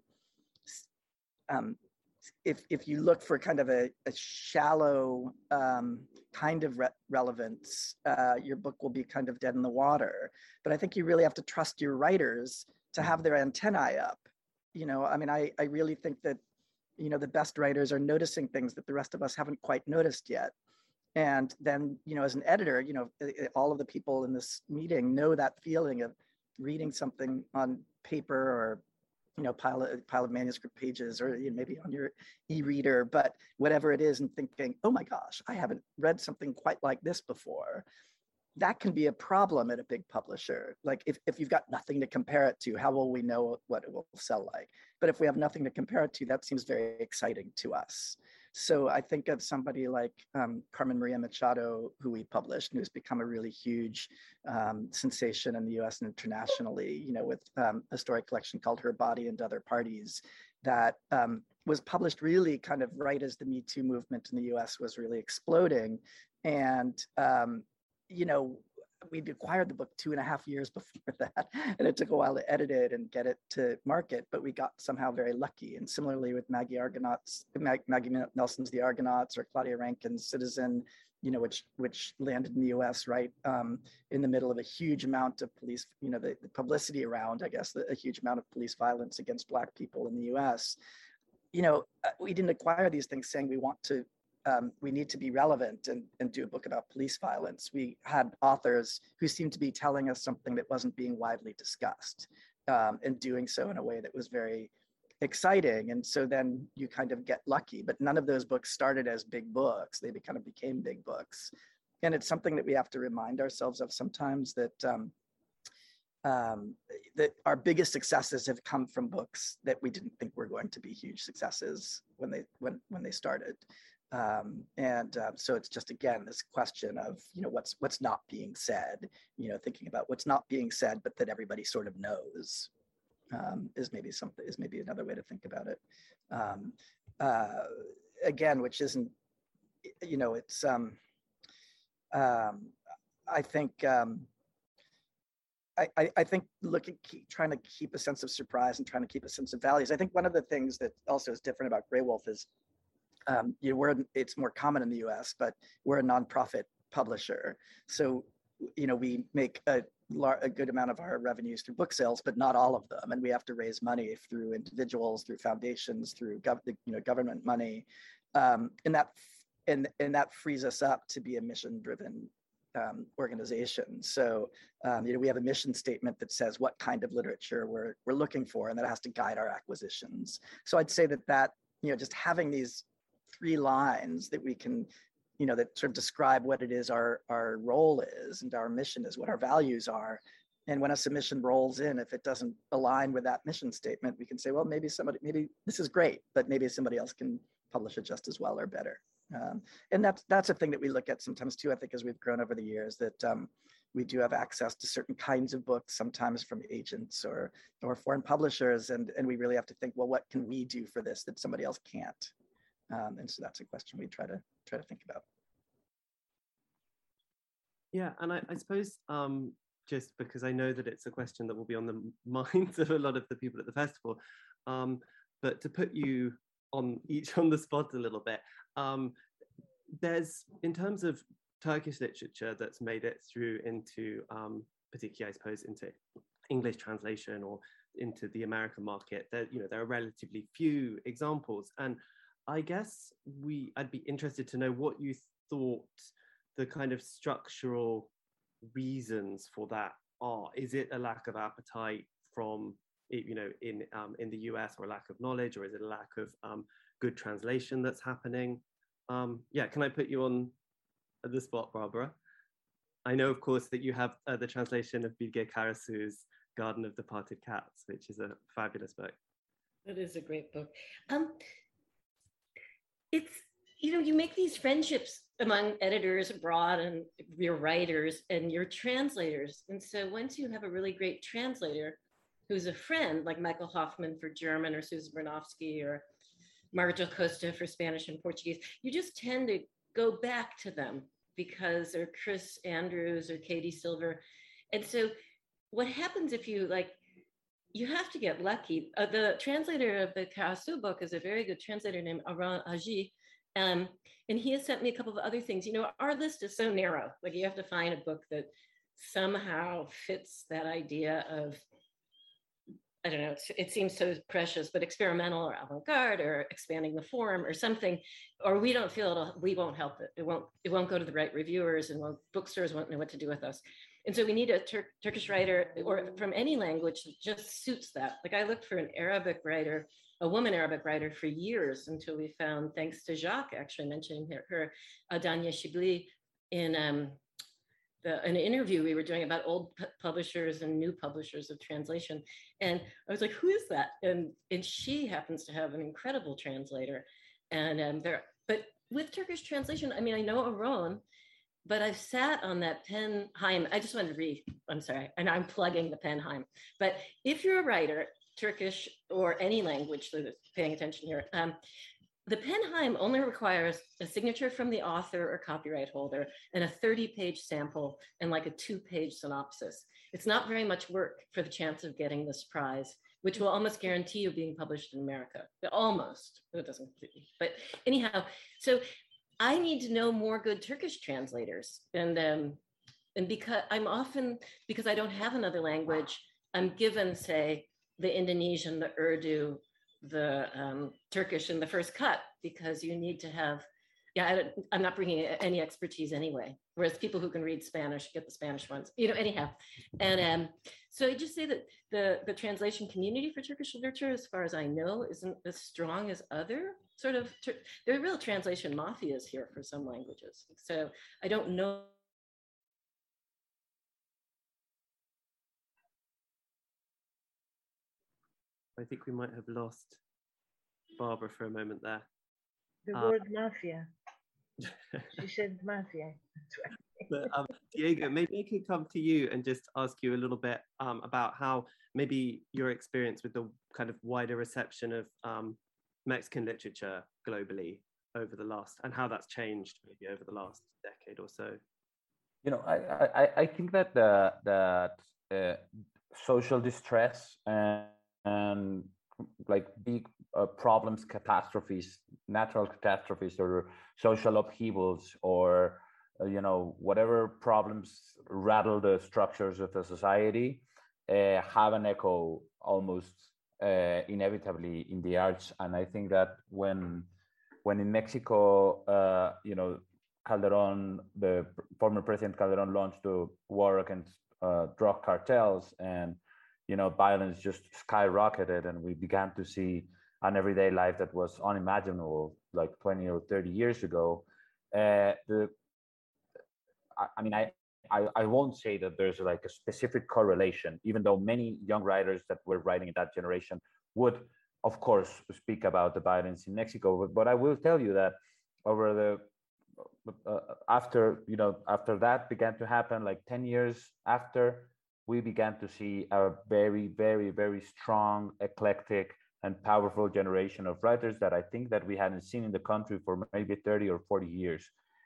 um, If, if you look for kind of a, a shallow um, kind of re- relevance, uh, your book will be kind of dead in the water. But I think you really have to trust your writers to have their antennae up. You know, I mean, I, I really think that, you know, the best writers are noticing things that the rest of us haven't quite noticed yet. And then, you know, as an editor, you know, all of the people in this meeting know that feeling of reading something on paper or you know, pile of, pile of manuscript pages, or you know, maybe on your e-reader, but whatever it is, and thinking, oh my gosh, I haven't read something quite like this before. That can be a problem at a big publisher. Like if, if you've got nothing to compare it to, how will we know what it will sell like? But if we have nothing to compare it to, that seems very exciting to us. So I think of somebody like um, Carmen Maria Machado, who we published, and who's become a really huge um, sensation in the U S and internationally, you know, with um, a story collection called Her Body and Other Parties, that um, was published really kind of right as the Me Too movement in the U S was really exploding. And um, you know, we'd acquired the book two and a half years before that, and it took a while to edit it and get it to market, but we got somehow very lucky. And similarly with Maggie Argonauts, Mag, Maggie Nelson's The Argonauts, or Claudia Rankine's Citizen, you know, which which landed in the U S right um, in the middle of a huge amount of police, you know, the, the publicity around, I guess, the, a huge amount of police violence against Black people in the U S. You know, we didn't acquire these things saying we want to, um, we need to be relevant and, and do a book about police violence. We had authors who seemed to be telling us something that wasn't being widely discussed, um, and doing so in a way that was very exciting. And so then you kind of get lucky, but none of those books started as big books. They kind of became big books. And it's something that we have to remind ourselves of sometimes, that um, um, that our biggest successes have come from books that we didn't think were going to be huge successes when they when when they started. Um, and uh, so it's just, again, this question of, you know, what's what's not being said, you know, thinking about what's not being said, but that everybody sort of knows. Um, is maybe something is maybe another way to think about it. Um, uh, again, which isn't, you know, it's. Um, um, I think. Um, I, I, I think looking, keep, trying to keep a sense of surprise and trying to keep a sense of values. I think one of the things that also is different about Graywolf is, um, you know, we're it's more common in the U S, but we're a nonprofit publisher, so you know we make a a good amount of our revenues through book sales, but not all of them. And we have to raise money through individuals, through foundations, through gov- you know, government money. Um, and that and, and that frees us up to be a mission-driven um, organization. So, um, you know, we have a mission statement that says what kind of literature we're, we're looking for, and that has to guide our acquisitions. So I'd say that that, you know, just having these three lines that we can, you know, that sort of describe what it is our, our role is and our mission is, what our values are. And when a submission rolls in, if it doesn't align with that mission statement, we can say, well, maybe somebody, maybe this is great, but maybe somebody else can publish it just as well or better. Um, and that's, that's a thing that we look at sometimes too, I think, as we've grown over the years, that um, we do have access to certain kinds of books, sometimes from agents or, or foreign publishers. And, and we really have to think, well, what can we do for this that somebody else can't? Um, and so that's a question we try to try to think about. Yeah, and I, I suppose um, just because I know that it's a question that will be on the minds of a lot of the people at the festival, um, but to put you on each on the spot a little bit, um, there's, in terms of Turkish literature that's made it through into, um, particularly I suppose, into English translation or into the American market, there, you know, there are relatively few examples. And I guess we, I'd be interested to know what you thought the kind of structural reasons for that are. Is it a lack of appetite from, you know, in um, in the U S, or a lack of knowledge, or is it a lack of um, good translation that's happening? Um, yeah, can I put you on the spot, Barbara? I know, of course, that you have uh, the translation of Bilge Karasu's Garden of Departed Cats, which is a fabulous book. It is a great book. Um, it's, you know, you make these friendships among editors abroad and your writers and your translators. And so once you have a really great translator who's a friend, like Michael Hoffman for German, or Susan Bernofsky, or Marta Costa for Spanish and Portuguese, you just tend to go back to them because, or Chris Andrews or Katie Silver. And so what happens if you like, you have to get lucky. Uh, the translator of the Karasu book is a very good translator named Aran Aji. Um, and he has sent me a couple of other things. You know, our list is so narrow. Like, you have to find a book that somehow fits that idea of, I don't know, it's, it seems so precious, but experimental or avant-garde or expanding the form or something, or we don't feel it'll, we won't help it. It won't, it won't go to the right reviewers, and won't, bookstores won't know what to do with us. And so we need a Tur- Turkish writer, or from any language, that just suits that. Like, I looked for an Arabic writer, a woman Arabic writer, for years, until we found, thanks to Jacques actually mentioning her, her Adania Shibli, in um, the, an interview we were doing about old pu- publishers and new publishers of translation. And I was like, who is that? And, and she happens to have an incredible translator. And um, there, but with Turkish translation, I mean, I know Aron, but I've sat on that Penheim. I just wanted to read, I'm sorry, and I'm plugging the Penheim. But if you're a writer, Turkish or any language, so paying attention here, um, the Penheim only requires a signature from the author or copyright holder and a thirty page sample and like a two page synopsis. It's not very much work for the chance of getting this prize, which will almost guarantee you being published in America. Almost, it doesn't completely, but anyhow, so I need to know more good Turkish translators. And, um, and because I'm often, because I don't have another language, I'm given, say, the Indonesian, the Urdu, the um, Turkish in the first cut, because you need to have, yeah, I don't, I'm not bringing any expertise anyway, whereas people who can read Spanish get the Spanish ones, you know, anyhow. And um, so I just say that the, the translation community for Turkish literature, as far as I know, isn't as strong as other sort of, there are real translation mafias here for some languages. So I don't know. I think we might have lost Barbara for a moment there. The uh, word mafia. She said mafia. But, um, Diego, maybe I could come to you and just ask you a little bit um, about how maybe your experience with the kind of wider reception of um, Mexican literature globally over the last, and how that's changed maybe over the last decade or so. You know, I I, I think that the that uh, social distress and, and like big uh, problems, catastrophes, natural catastrophes, or social upheavals, or uh, you know, whatever problems rattle the structures of the society, uh, have an echo almost uh, inevitably in the arts. And I think that when when in Mexico, uh, you know, Calderon, the former President Calderon, launched the war against uh, drug cartels, and you know, violence just skyrocketed, and we began to see an everyday life that was unimaginable like twenty or thirty years ago. Uh, the, I, I mean, I, I, I won't say that there's like a specific correlation, even though many young writers that were writing in that generation would, of course, speak about the violence in Mexico. But, but I will tell you that over the uh, after you know after that began to happen, like ten years after, we began to see a very, very, very strong, eclectic, and powerful generation of writers that I think that we hadn't seen in the country for maybe thirty or forty years.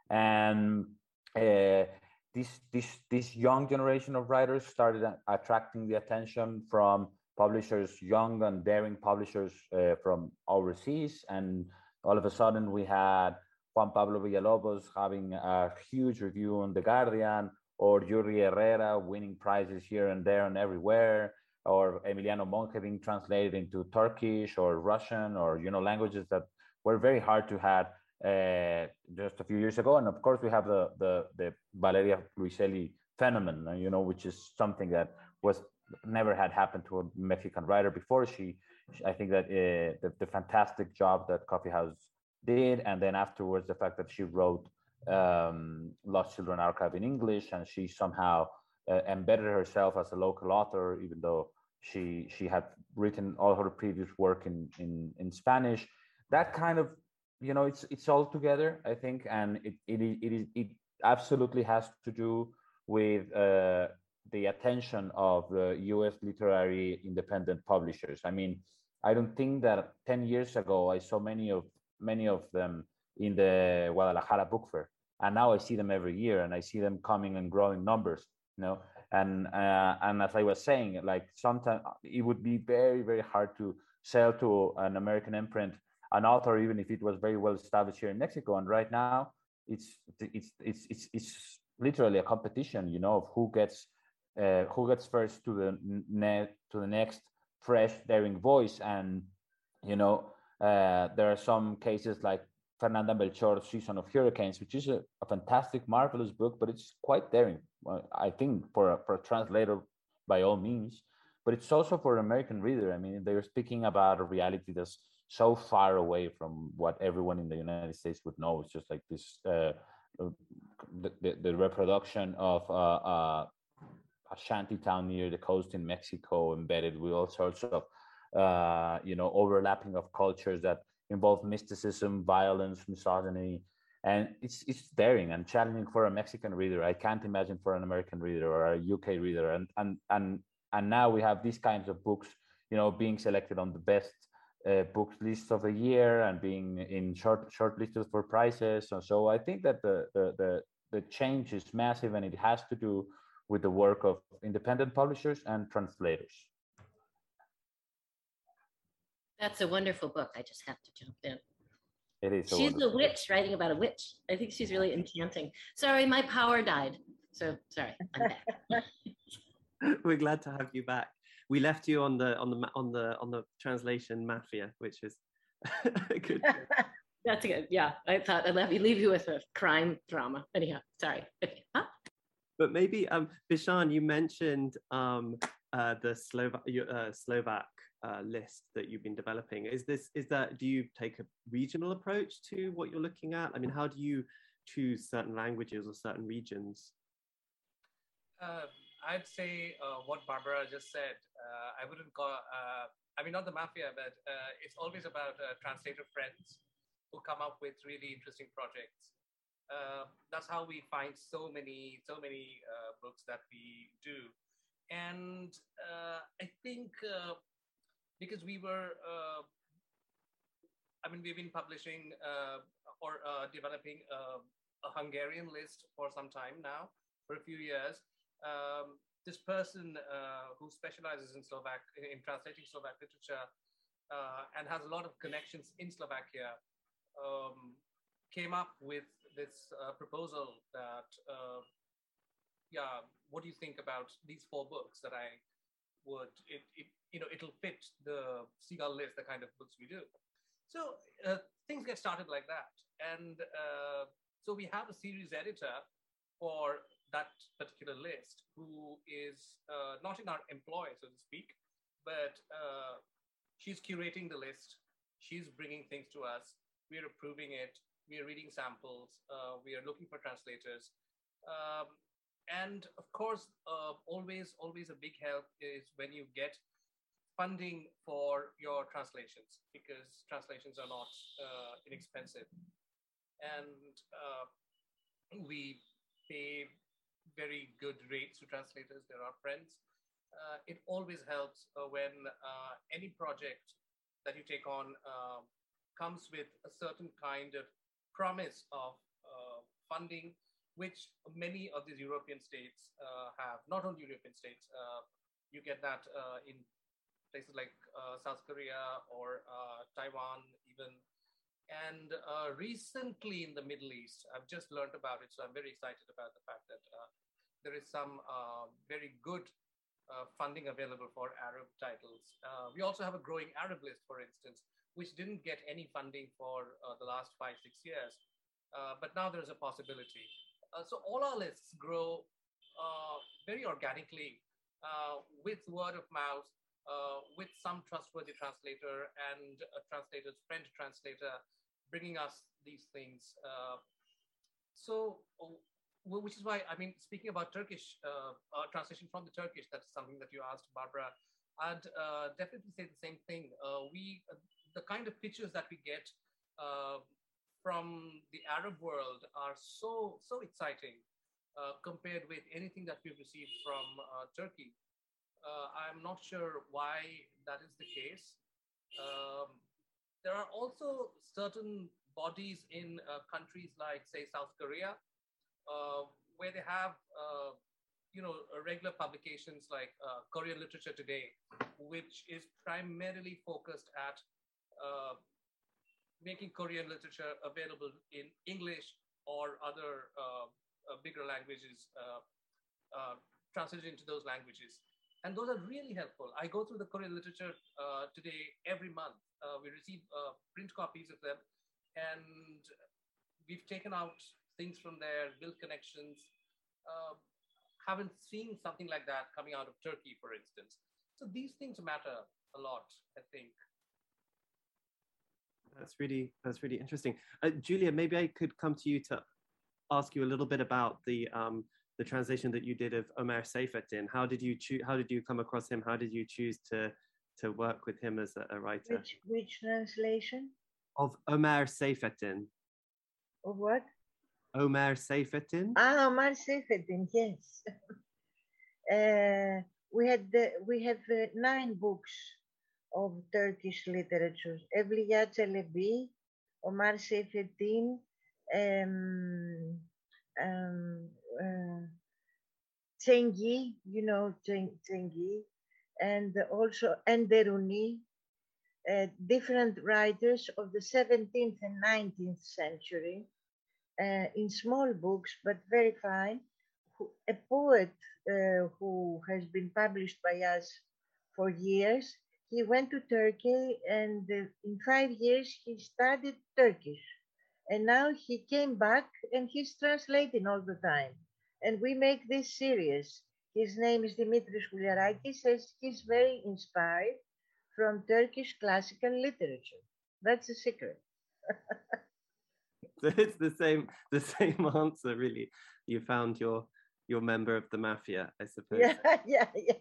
And uh, this this this young generation of writers started attracting the attention from publishers, young and daring publishers uh, from overseas. And all of a sudden, we had Juan Pablo Villalobos having a huge review on The Guardian, or Yuri Herrera winning prizes here and there and everywhere, or Emiliano Monge being translated into Turkish or Russian, or you know, languages that were very hard to have uh, just a few years ago. And of course, we have the the, the Valeria Luiselli phenomenon, you know, which is something that was never had happened to a Mexican writer before. She, I think that uh, the, the fantastic job that Coffee House did, and then afterwards the fact that she wrote um, Lost Children Archive in English, and she somehow uh, embedded herself as a local author, even though she she had written all her previous work in in, in Spanish. That kind of, you know, it's it's all together, I think, and it it it, is, it absolutely has to do with uh, the attention of the U S literary independent publishers. I mean, I don't think that ten years ago I saw many of many of them in the Guadalajara Book Fair, and now I see them every year, and I see them coming and growing numbers, you know. And uh, and as I was saying, like sometimes it would be very very hard to sell to an American imprint an author, even if it was very well established here in Mexico. And right now, it's it's it's it's it's literally a competition, you know, of who gets uh, who gets first to the net to the next fresh daring voice. And you know, uh, there are some cases like Fernanda Melchor's Season of Hurricanes, which is a, a fantastic, marvelous book, but it's quite daring, I think, for a, for a translator by all means. But it's also for an American reader. I mean, they're speaking about a reality that's so far away from what everyone in the United States would know. It's just like this, uh, the, the, the reproduction of uh, uh, a shanty town near the coast in Mexico, embedded with all sorts of, uh, you know, overlapping of cultures that involve mysticism, violence, misogyny, and it's it's daring and challenging for a Mexican reader. I can't imagine for an American reader or a U K reader. And and and and now we have these kinds of books, you know, being selected on the best uh, book lists of the year and being in short shortlisted for prizes. So, so I think that the, the the the change is massive, and it has to do with the work of independent publishers and translators. That's a wonderful book. I just have to jump in. It is. She's a witch writing about a witch. I think she's really enchanting. Sorry, my power died. So sorry, I'm back. We're glad to have you back. We left you on the on the on the on the translation mafia, which is good. That's good. Yeah, I thought I'd leave, leave you with a crime drama. Anyhow, sorry. Okay. Huh? But maybe, um, Bishan, you mentioned um, uh, the Slovak uh, Slovak uh, list that you've been developing. Is this is that? Do you take a regional approach to what you're looking at? I mean, how do you choose certain languages or certain regions? Uh, I'd say uh, what Barbara just said. Uh, I wouldn't call. Uh, I mean, not the mafia, but uh, it's always about uh, translator friends who come up with really interesting projects. Uh, that's how we find so many, so many uh, books that we do. And uh, I think uh, because we were, uh, I mean, we've been publishing uh, or uh, developing a, a Hungarian list for some time now, for a few years. Um, this person uh, who specializes in Slovak, in, in translating Slovak literature uh, and has a lot of connections in Slovakia, um, came up with this uh, proposal that, uh, yeah, what do you think about these four books that I would, it, it you know, it'll fit the Seagull list, the kind of books we do. So uh, things get started like that. And uh, so we have a series editor for that particular list who is uh, not in our employ, so to speak, but uh, she's curating the list. She's bringing things to us. We're approving it. We are reading samples. Uh, we are looking for translators. Um, and of course, uh, always, always a big help is when you get funding for your translations, because translations are not uh, inexpensive. And uh, we pay very good rates to translators. They're our friends. Uh, it always helps uh, when uh, any project that you take on uh, comes with a certain kind of promise of uh, funding, which many of these European states uh, have. Not only European states, uh, you get that uh, in places like uh, South Korea or uh, Taiwan even. And uh, recently in the Middle East, I've just learned about it, so I'm very excited about the fact that uh, there is some uh, very good uh, funding available for Arab titles. Uh, we also have a growing Arab list, for instance, which didn't get any funding for uh, the last five, six years. Uh, but now there's a possibility. Uh, so all our lists grow uh, very organically uh, with word of mouth, uh, with some trustworthy translator and a translator's friend translator bringing us these things. Uh, so, which is why, I mean, speaking about Turkish, uh, uh, translation from the Turkish, that's something that you asked, Barbara, I'd uh, definitely say the same thing. Uh, we, uh, the kind of pictures that we get uh, from the Arab world are so, so exciting uh, compared with anything that we've received from uh, Turkey. Uh, I'm not sure why that is the case. Um, there are also certain bodies in uh, countries like, say, South Korea, uh, where they have, uh, you know, regular publications like uh, Korean Literature Today, which is primarily focused at uh, making Korean literature available in English or other uh, uh, bigger languages, uh, uh, translated into those languages. And those are really helpful. I go through the Korean Literature uh, Today every month. Uh, we receive uh, print copies of them, and we've taken out things from there, built connections. Uh, haven't seen something like that coming out of Turkey, for instance. So these things matter a lot, I think. That's really, that's really interesting. Uh, Julia, maybe I could come to you to ask you a little bit about the um, the translation that you did of Ömer Seyfettin. How did you choose? How did you come across him? How did you choose to to work with him as a, a writer? Which which translation? Of Ömer Seyfettin. Of what? Ömer Seyfettin. Ah, Ömer Seyfettin. Yes. uh, we had the, we have uh, nine books of Turkish literature. Evliya Çelebi, Omar Seyfettin, um, um, uh, Cengi, you know Cengi, and also Enderuni, uh, different writers of the seventeenth and nineteenth century, uh, in small books, but very fine. A poet uh, who has been published by us for years. He went to Turkey, and uh, in five years he studied Turkish. And now he came back and he's translating all the time. And we make this series. His name is Dimitris Gouliarakis. Says he's very inspired from Turkish classical literature. That's a secret. So it's the same, the same answer, really. You found your your member of the mafia, I suppose. Yeah, yeah, yeah.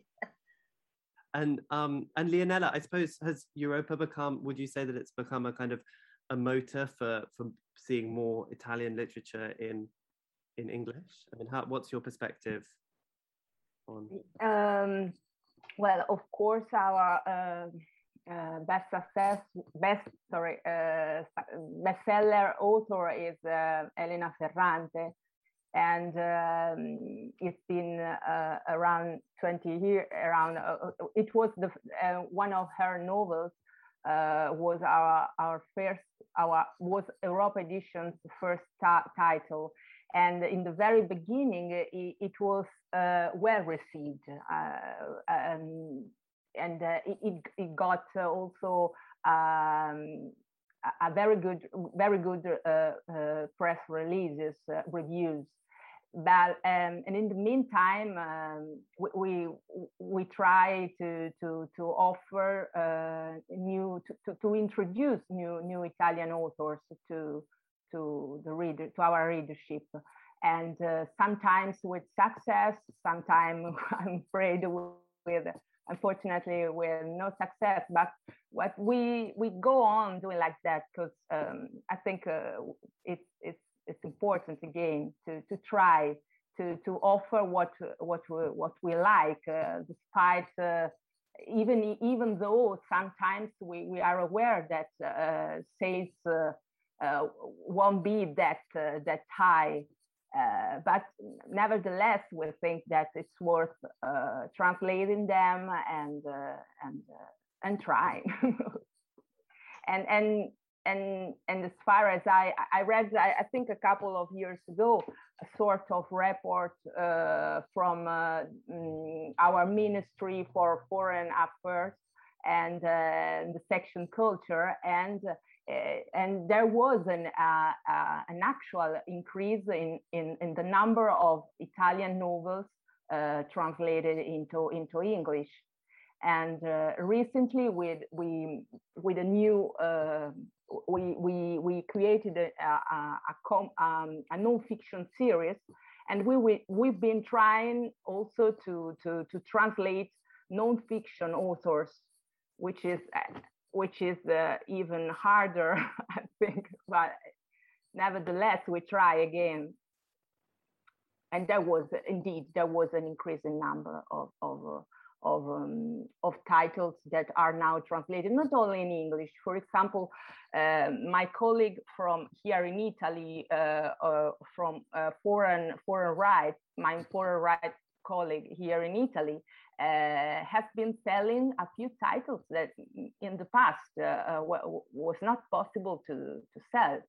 And um, and Leonela, I suppose, has Europa become? Would you say that it's become a kind of a motor for for seeing more Italian literature in in English? I mean, how, what's your perspective on? Um, well, of course, our uh, uh, best success, best sorry, uh, bestseller author is uh, Elena Ferrante. And um, it's been uh, around twenty years. Around uh, it was the uh, one of her novels uh, was our our first our was Europa Edition's first title, and in the very beginning it, it was uh, well received, uh, um, and uh, it it got also. Um, a very good, very good uh, uh, press releases, uh, reviews. But um, and in the meantime, um, we, we we try to to to offer uh, new to, to, to introduce new new Italian authors to to the reader to our readership, and uh, sometimes with success, sometimes I'm afraid with. Unfortunately, with no success, but what we we go on doing like that because um, I think uh, it's it's it's important again to to try to to offer what what we, what we like, uh, despite uh, even even though sometimes we, we are aware that uh, sales uh, uh, won't be that uh, that high. Uh, but nevertheless, we think that it's worth uh, translating them and uh, and uh, and trying. and and and and as far as I I read, I, I think a couple of years ago, a sort of report uh, from uh, our Ministry for Foreign Affairs and uh, the section Culture and. Uh, and there was an, uh, uh, an actual increase in, in, in the number of Italian novels uh, translated into, into English. And uh, recently, with, we, with a new, uh, we, we, we created a, a, a, com, um, a non-fiction series, and we, we, we've been trying also to, to, to translate non-fiction authors, which is which is uh, even harder, I think, but nevertheless, we try again. And there was, indeed, there was an increasing number of, of, uh, of, um, of titles that are now translated, not only in English. For example, uh, my colleague from here in Italy, uh, uh, from uh, foreign, foreign rights, my foreign rights colleague here in Italy, Uh, has been selling a few titles that in the past uh, uh, was not possible to, to sell.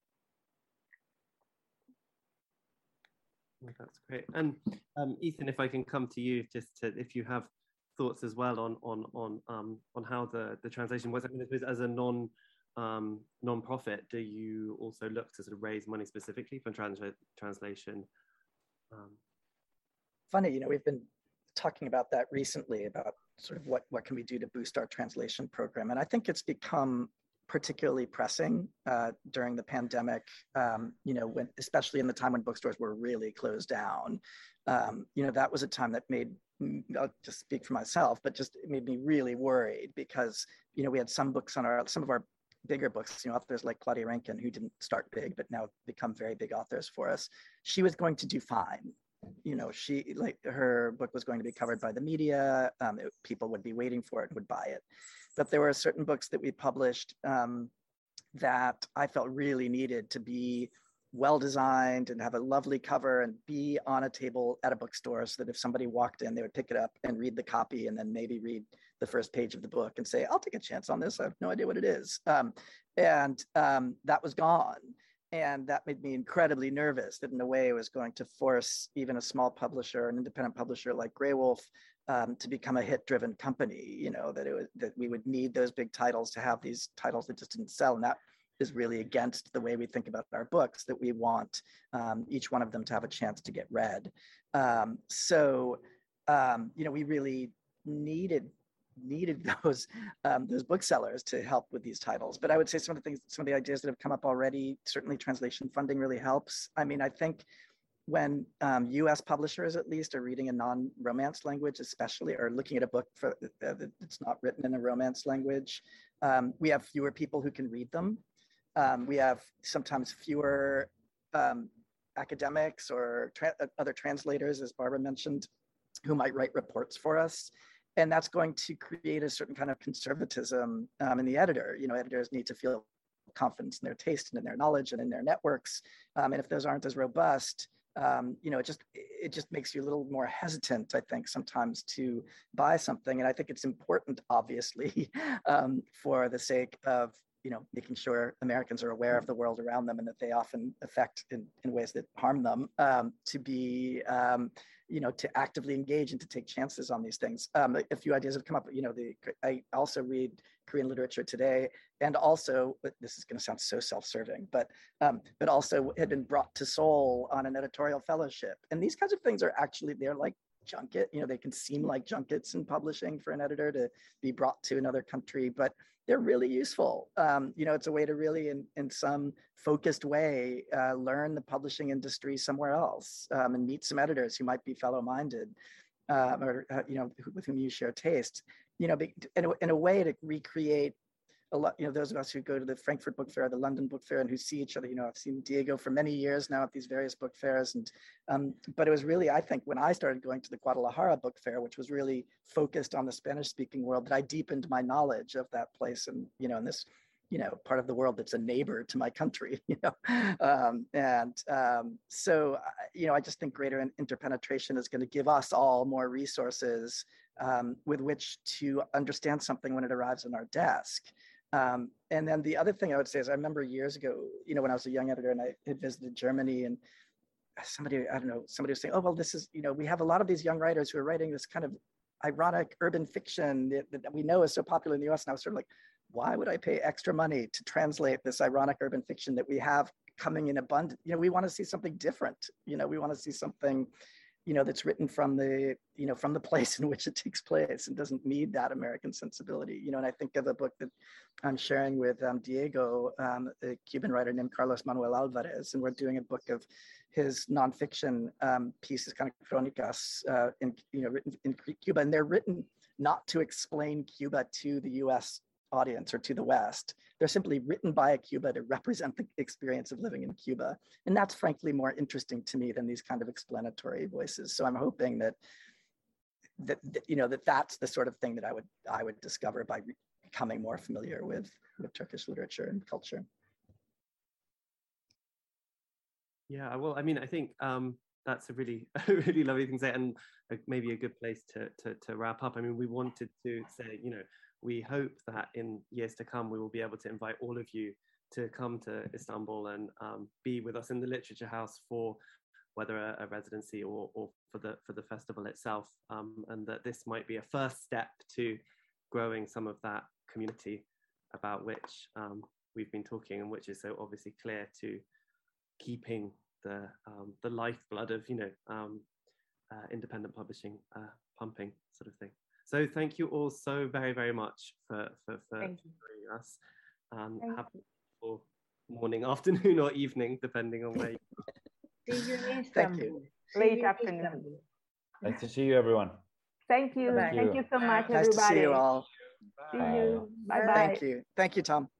That's great. And um, Ethan, if I can come to you, just to, if you have thoughts as well on on on um, on how the, the translation was. I mean, as a non um, non-profit, do you also look to sort of raise money specifically for trans translation? Um, Funny, you know, we've been talking about that recently, about sort of what, what can we do to boost our translation program. And I think it's become particularly pressing uh, during the pandemic, um, you know, when, especially in the time when bookstores were really closed down. Um, you know, that was a time that made, I'll just speak for myself, but just it made me really worried because, you know, we had some books on our, some of our bigger books, you know, authors like Claudia Rankine, who didn't start big, but now become very big authors for us. She was going to do fine. you know, she, like, her book was going to be covered by the media. Um, it, people would be waiting for it and would buy it. But there were certain books that we published um, that I felt really needed to be well designed and have a lovely cover and be on a table at a bookstore, so that if somebody walked in, they would pick it up and read the copy and then maybe read the first page of the book and say, I'll take a chance on this. I have no idea what it is. Um, and um, that was gone. And that made me incredibly nervous that in a way it was going to force even a small publisher, an independent publisher like Graywolf, um, to become a hit-driven company, you know, that it was, that we would need those big titles to have these titles that just didn't sell. And that is really against the way we think about our books, that we want um, each one of them to have a chance to get read. Um, so, um, you know, we really needed needed those um, those booksellers to help with these titles. But I would say some of the things, some of the ideas that have come up already, certainly translation funding really helps. I mean, I think when um, U S publishers at least are reading a non-romance language, especially, or looking at a book for uh, that's not written in a romance language, um, we have fewer people who can read them. Um, we have sometimes fewer um, academics or tra other translators, as Barbara mentioned, who might write reports for us. And that's going to create a certain kind of conservatism um, in the editor. You know, editors need to feel confidence in their taste and in their knowledge and in their networks. Um, and if those aren't as robust, um, you know, it just it just makes you a little more hesitant, I think, sometimes to buy something. And I think it's important, obviously, um, for the sake of, you know, making sure Americans are aware of the world around them and that they often affect in, in ways that harm them, um, to be, um, you know, to actively engage and to take chances on these things. Um, a few ideas have come up. You know, the I also read Korean literature today, and also, this is going to sound so self-serving, but um, but also had been brought to Seoul on an editorial fellowship. And these kinds of things are actually, they're like junket, you know, they can seem like junkets in publishing for an editor to be brought to another country, but they're really useful. Um, you know, it's a way to really, in, in some focused way, uh, learn the publishing industry somewhere else, um, and meet some editors who might be fellow-minded, uh, or, uh, you know, with whom you share taste. You know, in a, in a way to recreate a lot, you know, those of us who go to the Frankfurt Book Fair, the London Book Fair, and who see each other, you know, I've seen Diego for many years now at these various book fairs. And, um, but it was really, I think, when I started going to the Guadalajara Book Fair, which was really focused on the Spanish speaking world, that I deepened my knowledge of that place. And, you know, in this, you know, part of the world that's a neighbor to my country, you know. Um, and um, so, you know, I just think greater interpenetration is going to give us all more resources um, with which to understand something when it arrives on our desk. Um, and then the other thing I would say is, I remember years ago, you know, when I was a young editor and I had visited Germany, and somebody, I don't know, somebody was saying, oh, well, this is, you know, we have a lot of these young writers who are writing this kind of ironic urban fiction that, that we know is so popular in the U S. And I was sort of like, why would I pay extra money to translate this ironic urban fiction that we have coming in abundance? You know, we want to see something different. You know, we want to see something, you know, that's written from the, you know, from the place in which it takes place and doesn't need that American sensibility. You know, and I think of a book that I'm sharing with um, Diego, um, a Cuban writer named Carlos Manuel Alvarez, and we're doing a book of his nonfiction um, pieces, kind of chronicas, uh, in, you know, written in Cuba, and they're written not to explain Cuba to the U S audience or to the West. They're simply written by a Cuba to represent the experience of living in Cuba. And that's frankly more interesting to me than these kind of explanatory voices. So I'm hoping that, that, that you know, that that's the sort of thing that I would, I would discover by becoming more familiar with, with Turkish literature and culture. Yeah, well, I mean, I think um, that's a really, a really lovely thing to say, and maybe a good place to, to, to wrap up. I mean, we wanted to say, you know, we hope that in years to come, we will be able to invite all of you to come to Istanbul and um, be with us in the Literature House for whether a, a residency or, or for the for the festival itself, um, and that this might be a first step to growing some of that community about which um, we've been talking, and which is so obviously clear to keeping the um, the lifeblood of, you know, um, uh, independent publishing uh, pumping, sort of thing. So thank you all so very, very much for, for, for joining us. Um, have a wonderful morning, afternoon, or evening, depending on where you are. See you in Istanbul. Thank you. Late afternoon. Nice to see you, everyone. Thank you. Bye. Thank you so much, Nice everybody. to see you all. See Bye. you. Bye-bye. Thank you. Thank you, Tom.